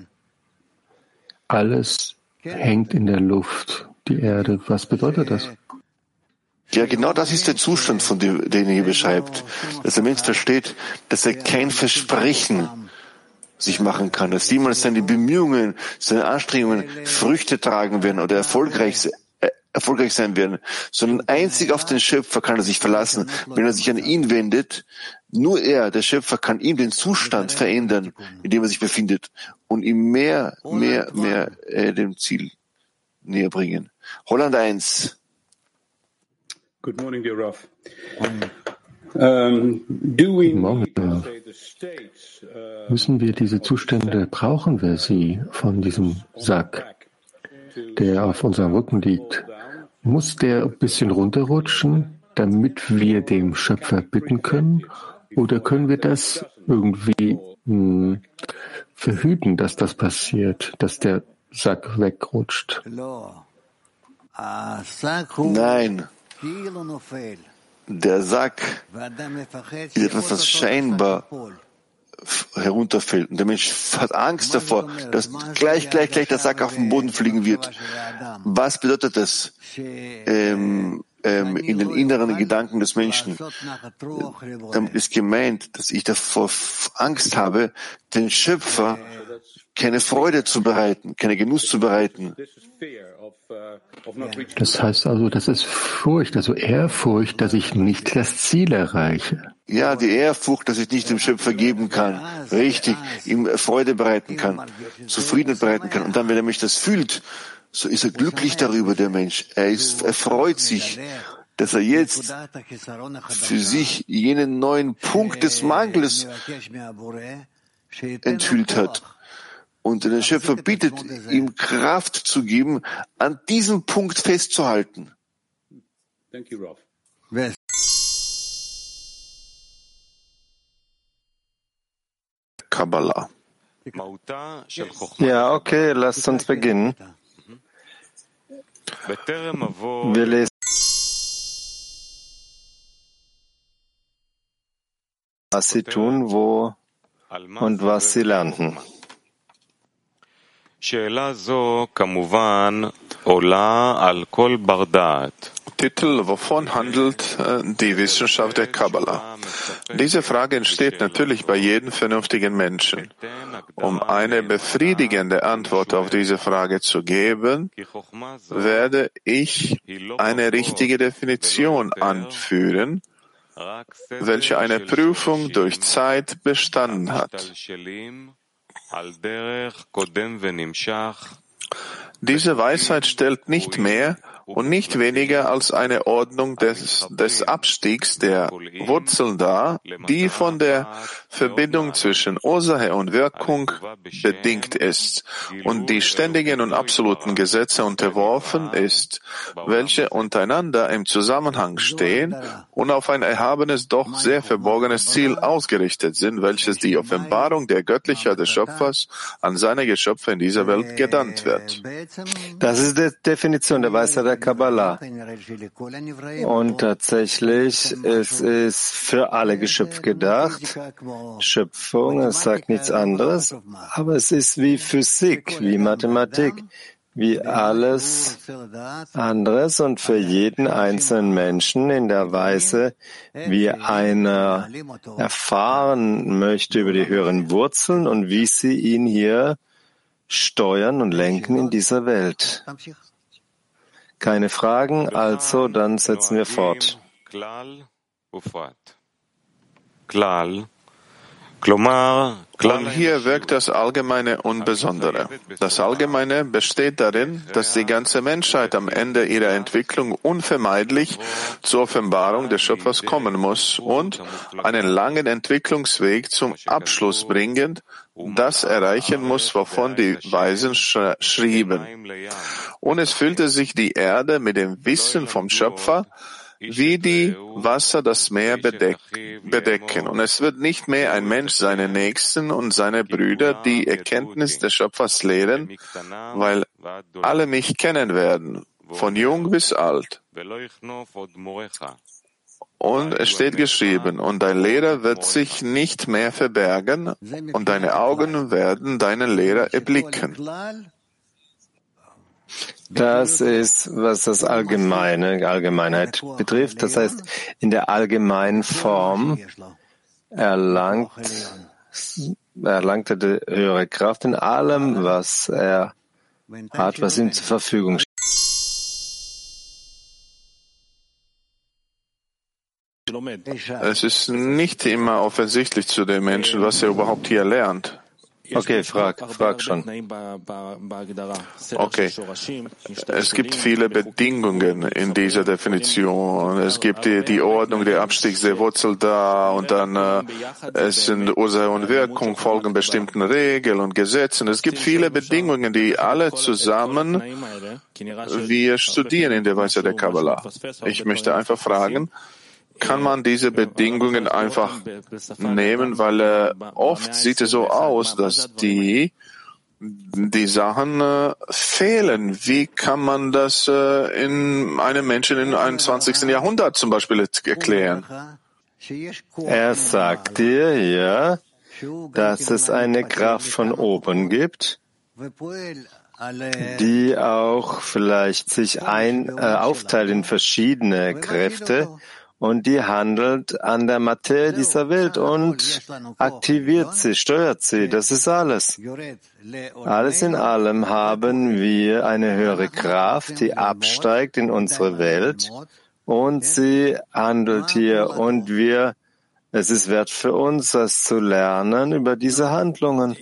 alles hängt in der Luft, die Erde? Was bedeutet das? Ja, genau das ist der Zustand, von dem, den er hier beschreibt. Dass der Mensch versteht, dass er kein Versprechen sich machen kann, dass jemals seine Bemühungen, seine Anstrengungen Früchte tragen werden oder erfolgreich sein werden, sondern einzig auf den Schöpfer kann er sich verlassen, wenn er sich an ihn wendet. Nur er, der Schöpfer, kann ihm den Zustand verändern, in dem er sich befindet und ihm mehr dem Ziel näher bringen. Holland 1. Good morning, dear Rav. Guten Morgen. Müssen wir diese Zustände, brauchen wir sie von diesem Sack, der auf unserem Rücken liegt? Muss der ein bisschen runterrutschen, damit wir dem Schöpfer bitten können? Oder können wir das irgendwie verhüten, dass das passiert, dass der Sack wegrutscht? Nein. Der Sack ist etwas, was scheinbar herunterfällt. Und der Mensch hat Angst davor, dass gleich der Sack auf den Boden fliegen wird. Was bedeutet das in den inneren Gedanken des Menschen? Damit ist gemeint, dass ich davor Angst habe, den Schöpfer keine Freude zu bereiten, keine Genuss zu bereiten. Das heißt also, das ist Furcht, also Ehrfurcht, dass ich nicht das Ziel erreiche. Ja, die Ehrfurcht, dass ich nicht dem Schöpfer geben kann, richtig, ihm Freude bereiten kann, Zufriedenheit bereiten kann. Und dann, wenn der Mensch das fühlt, so ist er glücklich darüber, der Mensch. Er freut sich, dass er jetzt für sich jenen neuen Punkt des Mangels enthüllt hat. Und der Schöpfer bittet, ihm Kraft zu geben, an diesem Punkt festzuhalten. Thank you, Rav. Kabbalah. Ja, okay, lasst uns beginnen. Wir lesen was sie tun, wo und was sie lernten. Titel: Wovon handelt die Wissenschaft der Kabbalah? Diese Frage entsteht natürlich bei jedem vernünftigen Menschen. Um eine befriedigende Antwort auf diese Frage zu geben, werde ich eine richtige Definition anführen, welche eine Prüfung durch Zeit bestanden hat. Diese Weisheit stellt nicht mehr und nicht weniger als eine Ordnung des Abstiegs der Wurzeln dar, die von der Verbindung zwischen Ursache und Wirkung bedingt ist und die ständigen und absoluten Gesetze unterworfen ist, welche untereinander im Zusammenhang stehen und auf ein erhabenes, doch sehr verborgenes Ziel ausgerichtet sind, welches die Offenbarung der Göttlichkeit des Schöpfers an seine Geschöpfe in dieser Welt genannt wird. Das ist die Definition der Weisheit der Kabbalah. Und tatsächlich, es ist für alle Geschöpfe gedacht. Schöpfung, es sagt nichts anderes, aber es ist wie Physik, wie Mathematik, wie alles anderes und für jeden einzelnen Menschen in der Weise, wie einer erfahren möchte über die höheren Wurzeln und wie sie ihn hier steuern und lenken in dieser Welt. Keine Fragen, also dann setzen wir fort. Und hier wirkt das Allgemeine und Besondere. Das Allgemeine besteht darin, dass die ganze Menschheit am Ende ihrer Entwicklung unvermeidlich zur Offenbarung des Schöpfers kommen muss und einen langen Entwicklungsweg zum Abschluss bringend das erreichen muss, wovon die Weisen schrieben. Und es füllte sich die Erde mit dem Wissen vom Schöpfer, wie die Wasser das Meer bedecken. Und es wird nicht mehr ein Mensch seine Nächsten und seine Brüder die Erkenntnis des Schöpfers lehren, weil alle mich kennen werden, von jung bis alt. Und es steht geschrieben, und dein Lehrer wird sich nicht mehr verbergen, und deine Augen werden deinen Lehrer erblicken. Das ist, was das Allgemeinheit betrifft. Das heißt, in der allgemeinen Form erlangt er die höhere Kraft in allem, was er hat, was ihm zur Verfügung steht. Es ist nicht immer offensichtlich zu den Menschen, was er überhaupt hier lernt. Okay, frag schon. Okay. Es gibt viele Bedingungen in dieser Definition. Es gibt die Ordnung der Abstiegs der Wurzel da und dann es sind Ursache und Wirkung, folgen bestimmten Regeln und Gesetzen. Es gibt viele Bedingungen, die alle zusammen wir studieren in der Weisheit der Kabbalah. Ich möchte einfach fragen, kann man diese Bedingungen einfach nehmen, weil oft sieht es so aus, dass die Sachen fehlen. Wie kann man das in einem Menschen im 21. Jahrhundert zum Beispiel erklären? Er sagt dir, ja, dass es eine Kraft von oben gibt, die auch vielleicht sich aufteilt in verschiedene Kräfte, und die handelt an der Materie dieser Welt und aktiviert sie, steuert sie. Das ist alles. Alles in allem haben wir eine höhere Kraft, die absteigt in unsere Welt und sie handelt hier. Und es ist wert für uns, das zu lernen über diese Handlungen.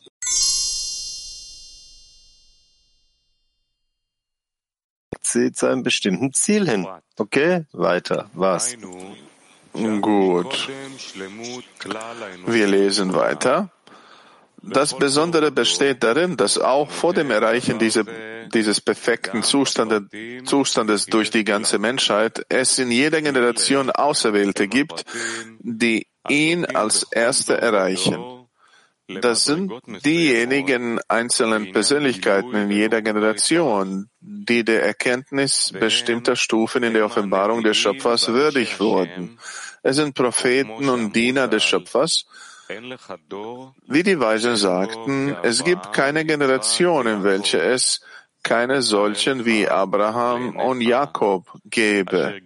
Sie zu einem bestimmten Ziel hin. Okay, weiter. Was? Gut. Wir lesen weiter. Das Besondere besteht darin, dass auch vor dem Erreichen dieses perfekten Zustandes durch die ganze Menschheit es in jeder Generation Auserwählte gibt, die ihn als Erste erreichen. Das sind diejenigen einzelnen Persönlichkeiten in jeder Generation, die der Erkenntnis bestimmter Stufen in der Offenbarung des Schöpfers würdig wurden. Es sind Propheten und Diener des Schöpfers. Wie die Weisen sagten, es gibt keine Generation, in welcher es keine solchen wie Abraham und Jakob gäbe.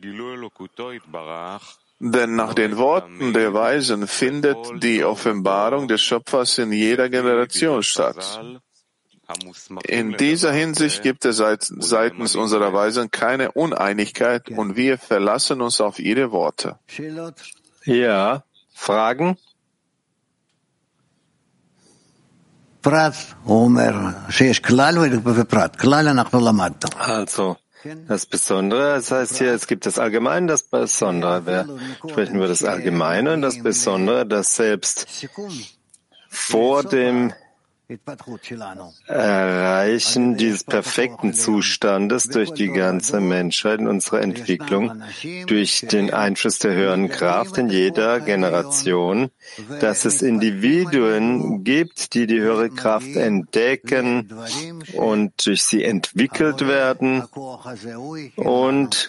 Denn nach den Worten der Weisen findet die Offenbarung des Schöpfers in jeder Generation statt. In dieser Hinsicht gibt es seitens unserer Weisen keine Uneinigkeit und wir verlassen uns auf ihre Worte. Ja, Fragen? Also, das Besondere, das heißt hier, es gibt das Allgemeine, das Besondere. Wir sprechen über das Allgemeine und das Besondere, das selbst vor dem Erreichen dieses perfekten Zustandes durch die ganze Menschheit in unserer Entwicklung, durch den Einfluss der höheren Kraft in jeder Generation, dass es Individuen gibt, die die höhere Kraft entdecken und durch sie entwickelt werden und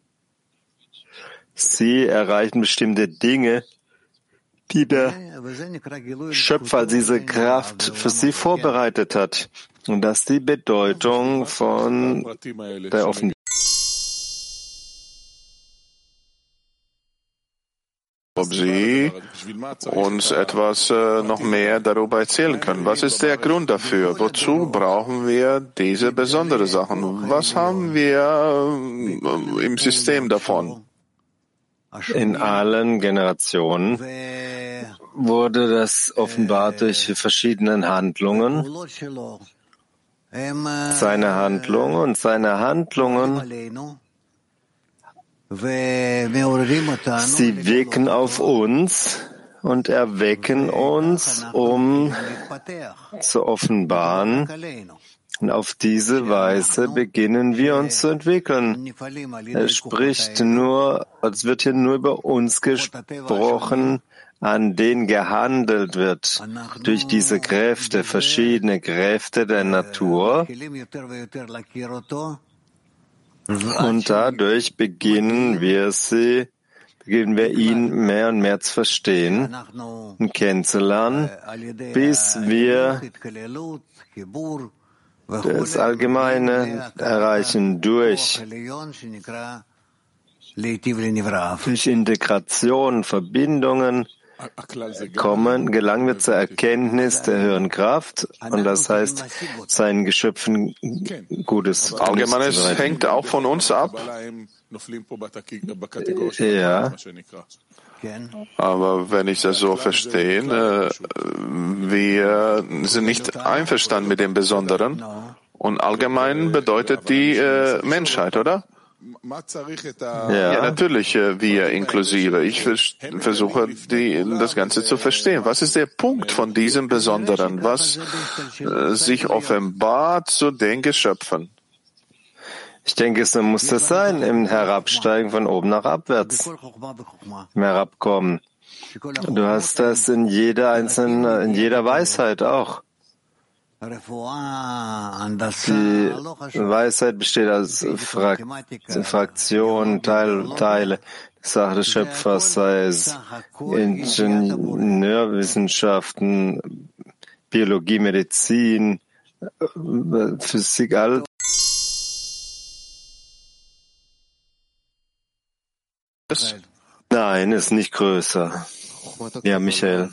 sie erreichen bestimmte Dinge, die der Schöpfer diese Kraft für sie vorbereitet hat. Und das ist die Bedeutung von der Offenbarung. Ob Sie uns etwas noch mehr darüber erzählen können. Was ist der Grund dafür? Wozu brauchen wir diese besonderen Sachen? Was haben wir im System davon? In allen Generationen wurde das offenbart durch verschiedene Handlungen. Seine Handlungen sie wirken auf uns und erwecken uns, um zu offenbaren. Und auf diese Weise beginnen wir uns zu entwickeln. Es wird hier nur über uns gesprochen, an denen gehandelt wird durch diese Kräfte, verschiedene Kräfte der Natur. Und dadurch beginnen wir ihn mehr und mehr zu verstehen und kennenzulernen, bis wir das Allgemeine erreichen durch Integration, Verbindungen, gelangen wir zur Erkenntnis der höheren Kraft, und das heißt, seinen Geschöpfen Gutes. Allgemeines hängt auch von uns ab. Ja. Aber wenn ich das so verstehe, wir sind nicht einverstanden mit dem Besonderen. Und allgemein bedeutet die Menschheit, oder? Ja, natürlich, wir inklusive. Ich versuche, das Ganze zu verstehen. Was ist der Punkt von diesem Besonderen, was sich offenbart zu den Geschöpfen? Ich denke, es muss das sein, im Herabsteigen von oben nach abwärts, im Herabkommen. Du hast das in jeder Weisheit auch. Die Weisheit besteht aus Fraktionen, Teile. Die Sache des Schöpfers, sei es Ingenieurwissenschaften, Biologie, Medizin, Physik, alles. Nein, ist nicht größer. Ja, Michael.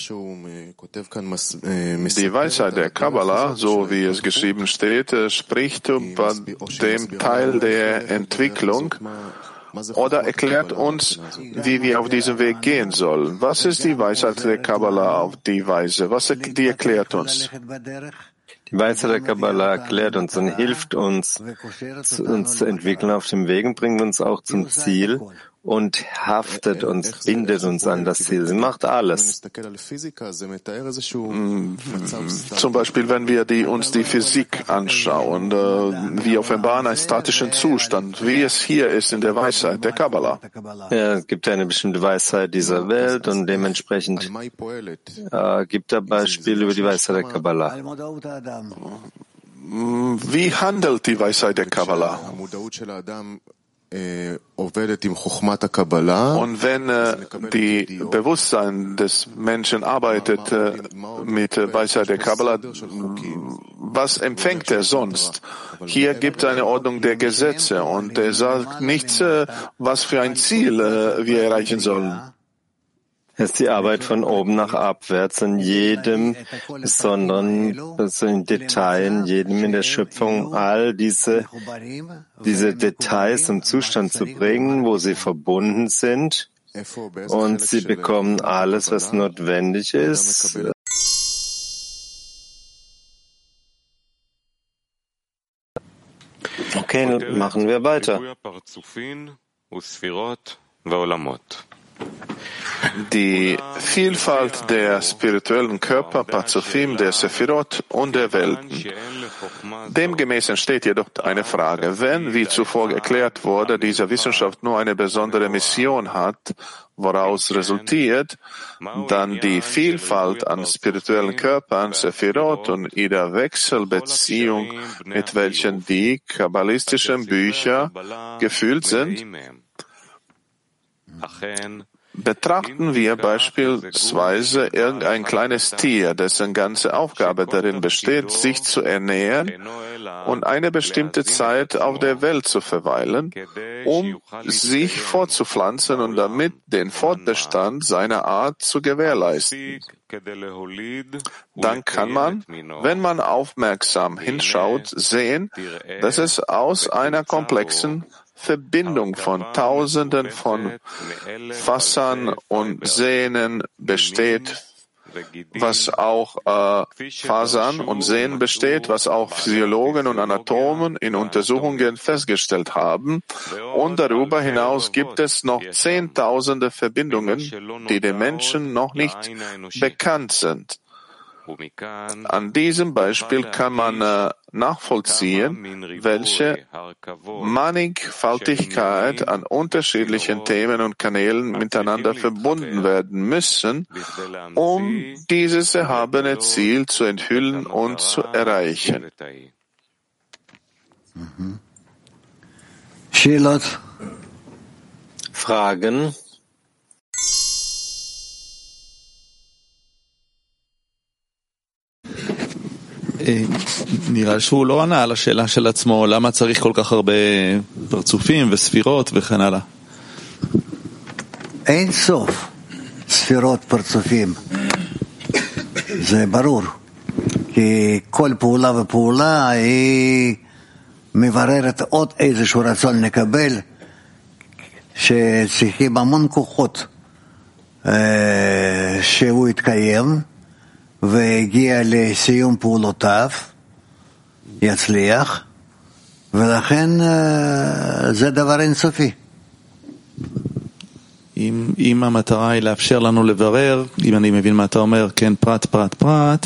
Die Weisheit der Kabbalah, so wie es geschrieben steht, spricht über den Teil der Entwicklung oder erklärt uns, wie wir auf diesem Weg gehen sollen. Was ist die Weisheit der Kabbalah auf die Weise? Die erklärt uns? Die Weisheit der Kabbalah erklärt uns und hilft uns zu entwickeln auf dem Weg und bringt uns auch zum Ziel und haftet uns, bindet uns an das Ziel. Sie macht alles. Zum Beispiel, wenn wir uns die Physik anschauen, wir offenbaren einen statischen Zustand, wie es hier ist in der Weisheit der Kabbalah. Ja, es gibt eine bestimmte Weisheit dieser Welt und dementsprechend gibt er Beispiele über die Weisheit der Kabbalah. Wie handelt die Weisheit der Kabbalah? Und wenn die Bewusstsein des Menschen arbeitet mit Weisheit der Kabbalah, was empfängt er sonst? Hier gibt es eine Ordnung der Gesetze und er sagt nichts, was für ein Ziel wir erreichen sollen. Es ist die Arbeit von oben nach abwärts in jedem besonderen, also in Detail, in jedem in der Schöpfung, all diese Details im Zustand zu bringen, wo sie verbunden sind, und sie bekommen alles, was notwendig ist. Okay, machen wir weiter. Die Vielfalt der spirituellen Körper, Pazufim, der Sephirot und der Welten. Demgemäß entsteht jedoch eine Frage. Wenn, wie zuvor erklärt wurde, diese Wissenschaft nur eine besondere Mission hat, woraus resultiert, dann die Vielfalt an spirituellen Körpern, Sephirot und ihrer Wechselbeziehung, mit welchen die kabbalistischen Bücher gefüllt sind. Betrachten wir beispielsweise irgendein kleines Tier, dessen ganze Aufgabe darin besteht, sich zu ernähren und eine bestimmte Zeit auf der Welt zu verweilen, um sich fortzupflanzen und damit den Fortbestand seiner Art zu gewährleisten. Dann kann man, wenn man aufmerksam hinschaut, sehen, dass es aus einer komplexen, Verbindung von Tausenden von Fassern und Sehnen besteht, was auch Fasern und Sehnen besteht, was auch Physiologen und Anatomen in Untersuchungen festgestellt haben. Und darüber hinaus gibt es noch Zehntausende Verbindungen, die den Menschen noch nicht bekannt sind. An diesem Beispiel kann man nachvollziehen, welche Mannigfaltigkeit an unterschiedlichen Themen und Kanälen miteinander verbunden werden müssen, um dieses erhabene Ziel zu enthüllen und zu erreichen. Fragen? נראה שהוא לא ענה על השאלה של עצמו, למה צריך כל כך הרבה פרצופים וספירות וכן הלאה. אין סוף ספירות פרצופים, זה ברור, כי כל פעולה ופעולה היא מבררת עוד איזשהו רצון לקבל, שצריכים המון כוחות שהוא יתקיים והגיע לסיום פעולותיו, יצליח, ולכן זה דבר אינסופי. אם המטרה היא לאפשר לנו לברר, אם אני מבין מה אתה אומר, כן, פרט, פרט, פרט,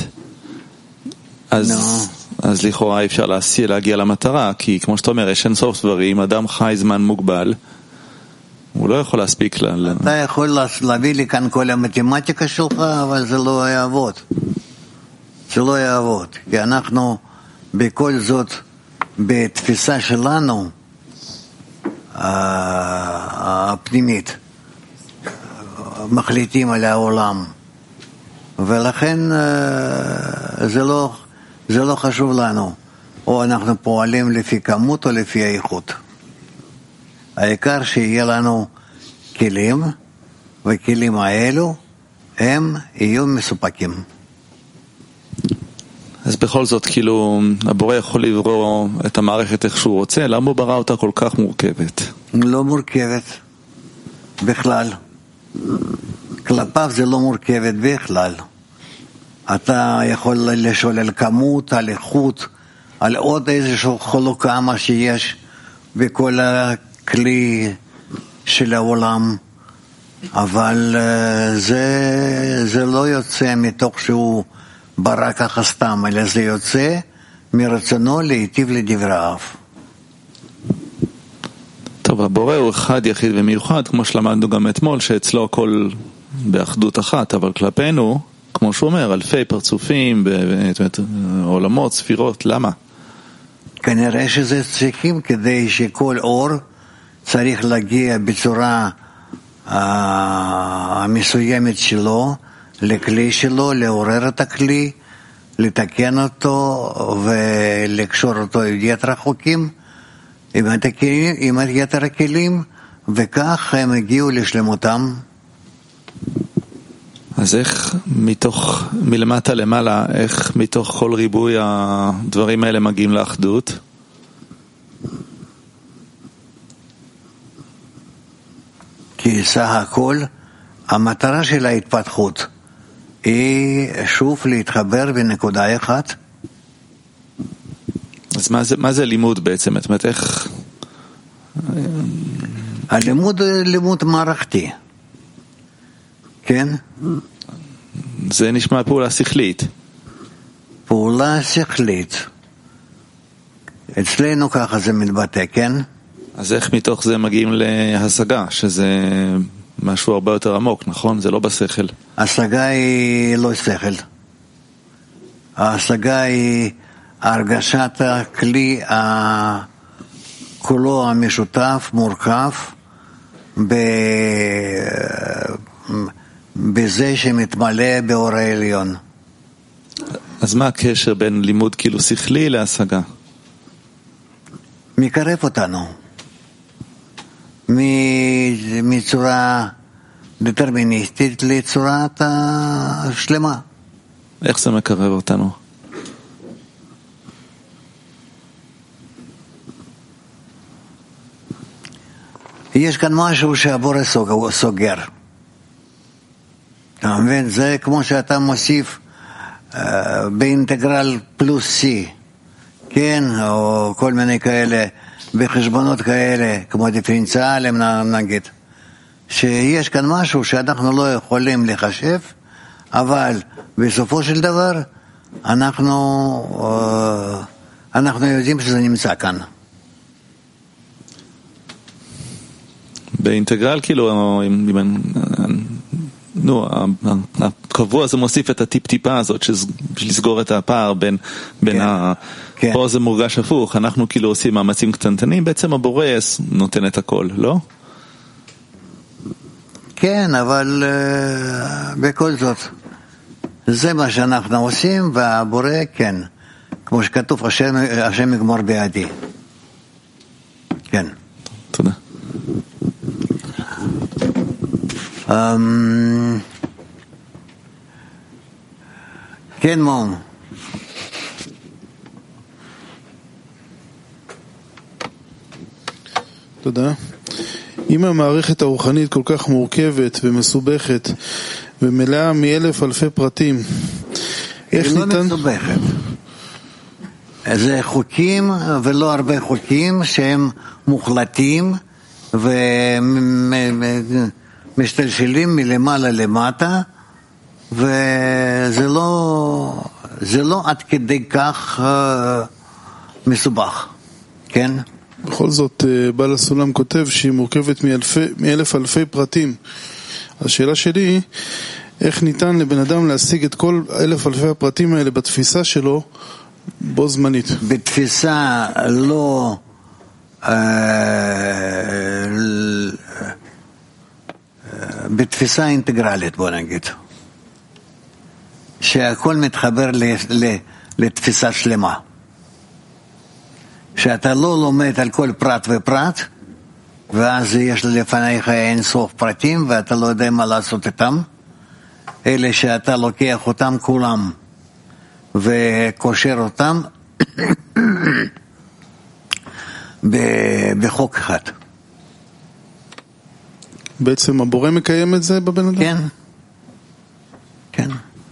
אז לכאורה אי אפשר להגיע למטרה, כי כמו שאתה אומר, יש אין סוף דברים, אדם חי זמן מוגבל, הוא לא יכול להספיק אתה יכול להביא לי כאן כל המתמטיקה שלך, אבל זה לא יעבוד. זה לא יעבוד, כי אנחנו בכל זאת, בתפיסה שלנו הפנימית, מחליטים על העולם, ולכן זה לא חשוב לנו, או אנחנו פועלים לפי כמות או לפי האיכות. העיקר שיהיה לנו כלים, וכלים האלו הם יהיו מסופקים. אז בכל זאת, כאילו, הבורא יכול לברוא את המערכת איך שהוא רוצה, למה הוא ברא אותה כל כך מורכבת? לא מורכבת, בכלל. כלפיו זה לא מורכבת בכלל. אתה יכול לשאול על כמות, על איכות, על עוד איזשהו חלוקה מה שיש בכל הכלי של העולם, אבל זה לא יוצא מתוך שהוא ברא ככה סתם, אלא זה יוצא מרצונו להיטיב לדבריו. טוב, הבורא הוא אחד יחיד ומיוחד, כמו שלמדנו גם אתמול, שאצלו הכל באחדות אחת, אבל כלפינו, כמו שהוא אומר, אלפי פרצופים, עולמות, ספירות, למה? כנראה שזה צריכים כדי שכל אור צריך להגיע בצורה מסוימת שלו, לכלי שלו, לעורר את הכלי, לתקן אותו ולקשור אותו עם יתר החוקים, עם יתר הכלים, וכך הם הגיעו לשלמותם. אז איך מתוך, מלמטה למעלה, איך מתוך כל ריבוי הדברים האלה מגיעים לאחדות? כי סך הכל, המטרה של ההתפתחות היא שוב להתחבר בנקודה אחת. אז מה זה לימוד בעצם? זאת אומרת, איך... הלימוד הוא לימוד מערכתי. כן? זה נשמע פעולה שכלית. פעולה שכלית. אצלנו ככה זה מתבטא, כן? אז איך מתוך זה מגיעים להשגה, שזה משהו הרבה יותר עמוק, נכון? זה לא בשכל. השגה היא לא שכל. ההשגה היא הרגשת הכלי כולו המשותף, מורכב, בזה שמתמלא באור העליון. אז מה הקשר בין לימוד כאילו שכלי להשגה? מקרב אותנו. מצורה דטרמיניסטית לצורת שלמה. איך זה מקרב אותנו? יש כאן משהו שהבורא סוגר. אתה מבין? זה כמו שאתה מוסיף באינטגרל פלוס C, כן? או כל מיני כאלה, בחשבונות כאלה, כמו דיפרנציאלים נגיד, שיש כאן משהו שאנחנו לא יכולים לחשב, אבל בסופו של דבר אנחנו יודעים שזה נמצא כאן. באינטגרל כאילו, הקבוע זה מוסיף את הטיפ-טיפה הזאת בשביל לסגור את הפער בין פה זה מורגש הפוך, אנחנו כאילו עושים מאמצים קטנטנים, בעצם הבורא נותן את הכל, לא? כן, אבל בכל זאת זה מה שאנחנו עושים, והבורא כן, כמו שכתוב, השם יגמור בידי. כן. תודה. כן, מום. תודה. אם המערכת הרוחנית כל כך מורכבת ומסובכת ומלאה מאלף אלפי פרטים, איך ניתן... היא לא מסובכת. זה חוקים ולא הרבה חוקים שהם מוחלטים ומשתלשלים מלמעלה למטה, וזה לא עד כדי כך מסובך, כן? בכל זאת, בעל הסולם כותב שהיא מורכבת מאלף אלפי פרטים. השאלה שלי, איך ניתן לבן אדם להשיג את כל אלף אלפי הפרטים האלה בתפיסה שלו בו זמנית? בתפיסה לא בתפיסה אינטגרלית, בוא נגיד, שהכל מתחבר לתפיסה שלמה, שאתה לא לומד על כל פרט ופרט, ואז יש לפניך אין סוף פרטים ואתה לא יודע מה לעשות איתם, אלה שאתה לוקח אותם כולם וקושר אותם בחוק אחד. בעצם הבורא מקיים את זה בבן אדם? כן, כן.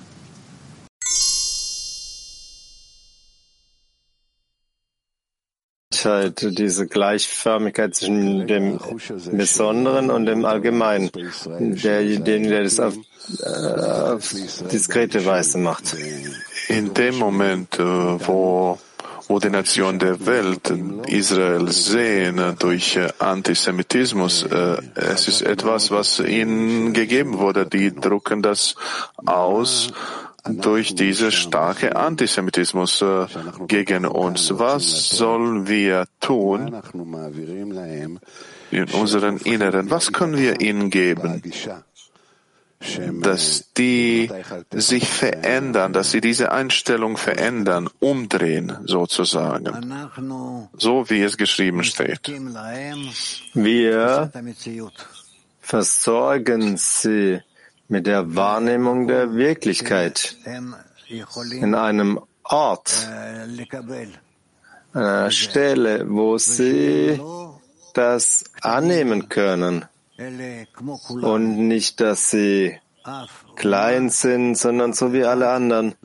Diese Gleichförmigkeit zwischen dem Besonderen und dem Allgemeinen, der das auf diskrete Weise macht. In dem Moment, wo die Nationen der Welt Israel sehen durch Antisemitismus, es ist etwas, was ihnen gegeben wurde. Die drucken das aus durch diese starke Antisemitismus gegen uns. Was sollen wir tun in unserem Inneren? Was können wir ihnen geben, dass die sich verändern, dass sie diese Einstellung verändern, umdrehen sozusagen, so wie es geschrieben steht? Wir versorgen sie mit der Wahrnehmung der Wirklichkeit in einem Ort, einer Stelle, wo sie das annehmen können und nicht, dass sie klein sind, sondern so wie alle anderen.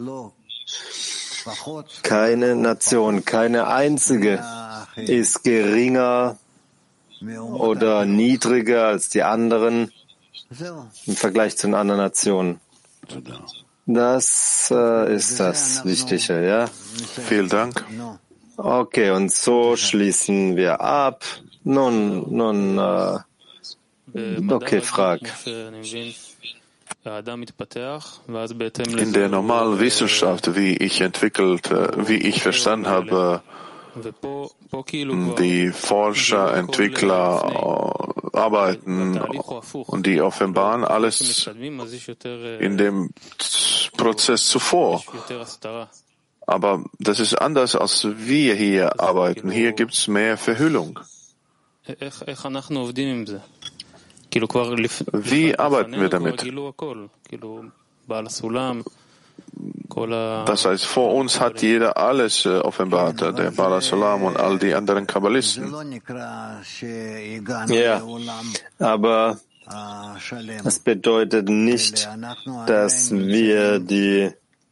Keine Nation, keine einzige ist geringer oder niedriger als die anderen im Vergleich zu den anderen Nationen. Das ist das Wichtige, ja? Vielen Dank. Okay, und so schließen wir ab. Nun, okay, frag. In der normalen Wissenschaft, wie ich verstanden habe, die Forscher, Entwickler arbeiten und die offenbaren alles in dem Prozess zuvor. Aber das ist anders, als wir hier arbeiten. Hier gibt es mehr Verhüllung. Wie arbeiten wir damit? Das heißt, vor uns hat jeder alles offenbart, der Bala Solam und all die anderen Kabbalisten. Ja, aber es bedeutet nicht, dass wir die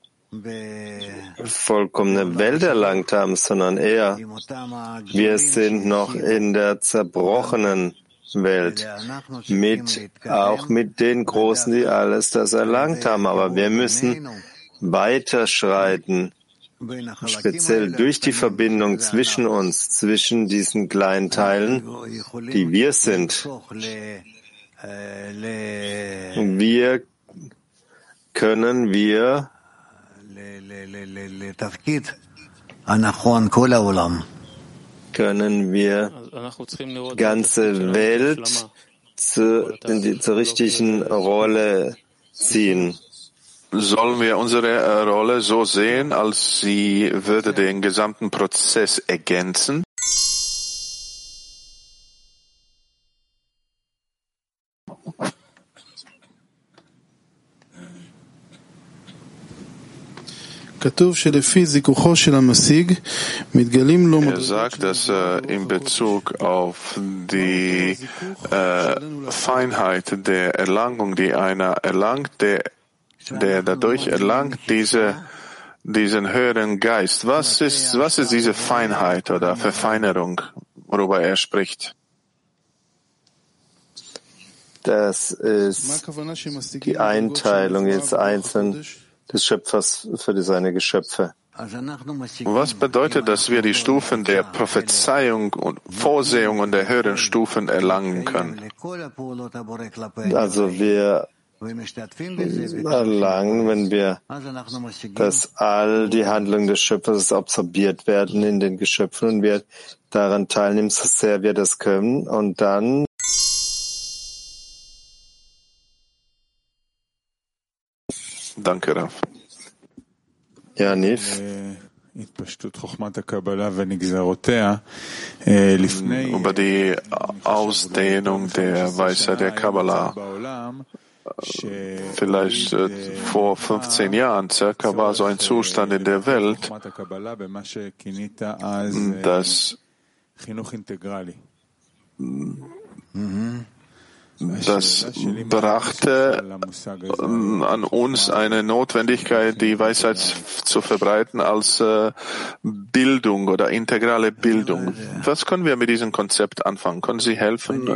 vollkommene Welt erlangt haben, sondern eher, wir sind noch in der zerbrochenen Welt, auch mit den Großen, die alles das erlangt haben. Aber wir müssen weiterschreiten, speziell durch die Verbindung zwischen uns, zwischen diesen kleinen Teilen, die wir sind. Können wir die ganze Welt zur richtigen Rolle ziehen. Sollen wir unsere Rolle so sehen, als sie würde den gesamten Prozess ergänzen? Er sagt, dass in Bezug auf die Feinheit der Erlangung, die einer erlangt, der dadurch erlangt diesen höheren Geist. Was ist diese Feinheit oder Verfeinerung, worüber er spricht? Das ist die Einteilung jetzt einzeln des Schöpfers für seine Geschöpfe. Was bedeutet, dass wir die Stufen der Prophezeiung und Vorsehung und der höheren Stufen erlangen können? Also wir erlangen, wenn wir, dass all die Handlungen des Schöpfers absorbiert werden in den Geschöpfen und wir daran teilnehmen, so sehr wir das können, und dann Danke, Rav. Ja, Nif. Über die Ausdehnung der Weisheit der Kabbalah. Vielleicht vor 15 Jahren circa war so ein Zustand in der Welt, das brachte an uns eine Notwendigkeit, die Weisheit zu verbreiten als Bildung oder integrale Bildung. Was können wir mit diesem Konzept anfangen? Können Sie helfen?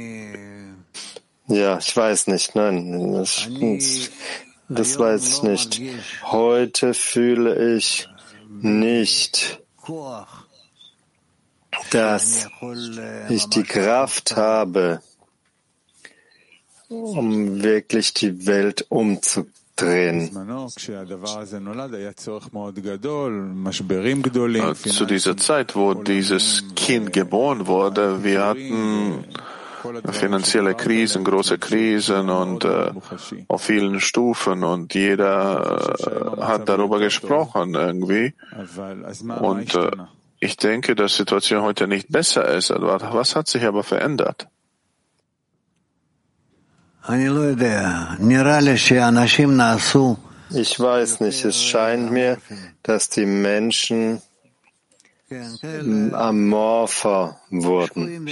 Ja, ich weiß nicht. Nein, das weiß ich nicht. Heute fühle ich nicht, dass ich die Kraft habe, um wirklich die Welt umzudrehen. Zu dieser Zeit, wo dieses Kind geboren wurde, wir hatten finanzielle Krisen, große Krisen und auf vielen Stufen, und jeder hat darüber gesprochen irgendwie. Und ich denke, dass die Situation heute nicht besser ist. Was hat sich aber verändert? Ich weiß nicht, es scheint mir, dass die Menschen amorpher wurden.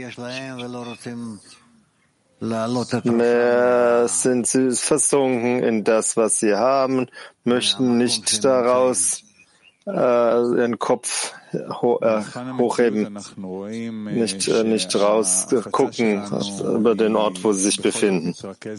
Mehr sind sie versunken in das, was sie haben, möchten nicht daraus ihren Kopf hochheben, nicht raus gucken über den Ort, wo sie sich befinden.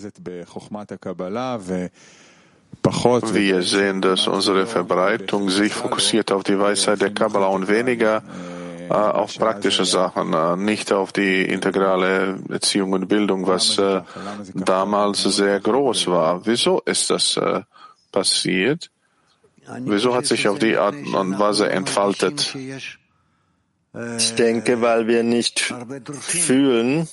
Wir sehen, dass unsere Verbreitung sich fokussiert auf die Weisheit der Kabbalah und weniger auf praktische Sachen, nicht auf die integrale Erziehung und Bildung, was damals sehr groß war. Wieso ist das passiert? Wieso hat sich auf die Art und Weise entfaltet? Ich denke, weil wir nicht fühlen,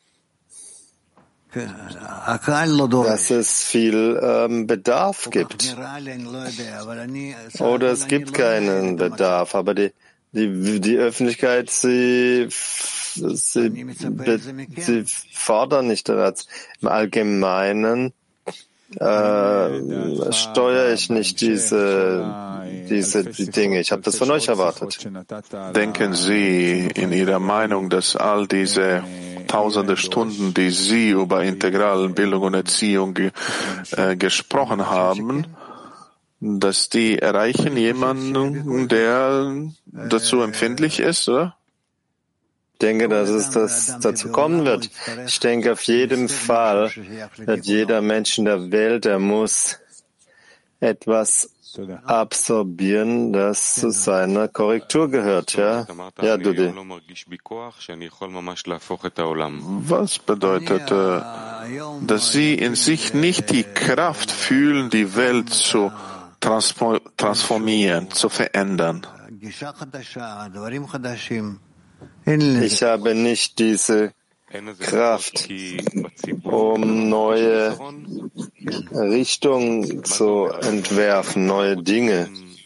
dass es viel Bedarf gibt. Oder es gibt keinen Bedarf, aber die Öffentlichkeit, sie fordern nicht daran. Im Allgemeinen steuere ich nicht diese Dinge. Ich habe das von euch erwartet. Denken Sie in Ihrer Meinung, dass all diese tausende Stunden, die Sie über integrale Bildung und Erziehung gesprochen haben, dass die erreichen jemanden, der dazu empfindlich ist, oder? Ich denke, dass es dazu kommen wird. Ich denke, auf jeden Fall wird jeder Mensch in der Welt, der muss etwas absorbieren, das zu seiner Korrektur gehört. Ja, Dudi. Was bedeutet, dass Sie in sich nicht die Kraft fühlen, die Welt zu transformieren, zu verändern? Ich habe nicht diese Kraft, um neue Richtungen zu entwerfen, neue Dinge.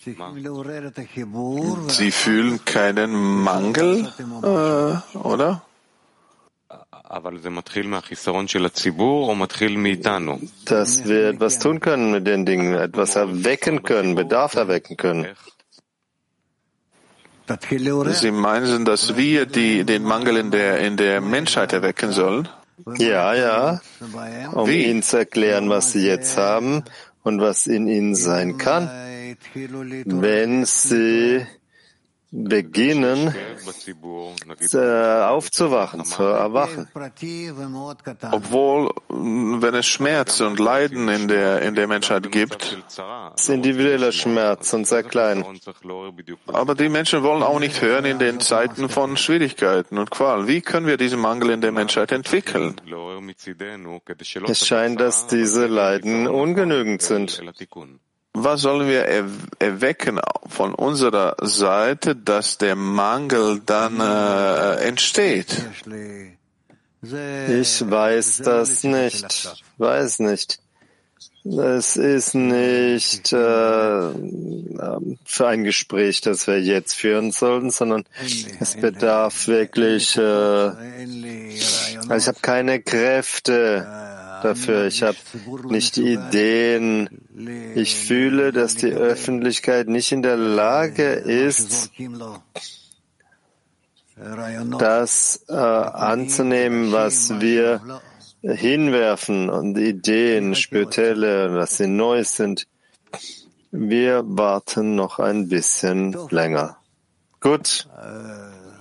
Sie fühlen keinen Mangel, oder? Dass wir etwas tun können mit den Dingen, etwas erwecken können, Bedarf erwecken können. Sie meinen, dass wir den Mangel in der Menschheit erwecken sollen? Ja, um ihnen zu erklären, was sie jetzt haben und was in ihnen sein kann, wenn sie beginnen, aufzuwachen, zu erwachen. Obwohl, wenn es Schmerz und Leiden in der Menschheit gibt, es ist individueller Schmerz und sehr klein. Aber die Menschen wollen auch nicht hören in den Zeiten von Schwierigkeiten und Qual. Wie können wir diesen Mangel in der Menschheit entwickeln? Es scheint, dass diese Leiden ungenügend sind. Was sollen wir erwecken von unserer Seite, dass der Mangel dann entsteht? Ich weiß das nicht. Weiß nicht. Es ist nicht für ein Gespräch, das wir jetzt führen sollten, sondern es bedarf wirklich. Also ich habe keine Kräfte dafür. Ich habe nicht Ideen. Ich fühle, dass die Öffentlichkeit nicht in der Lage ist, das anzunehmen, was wir hinwerfen und Ideen, spirituelle, dass sie neu sind. Wir warten noch ein bisschen länger. Gut.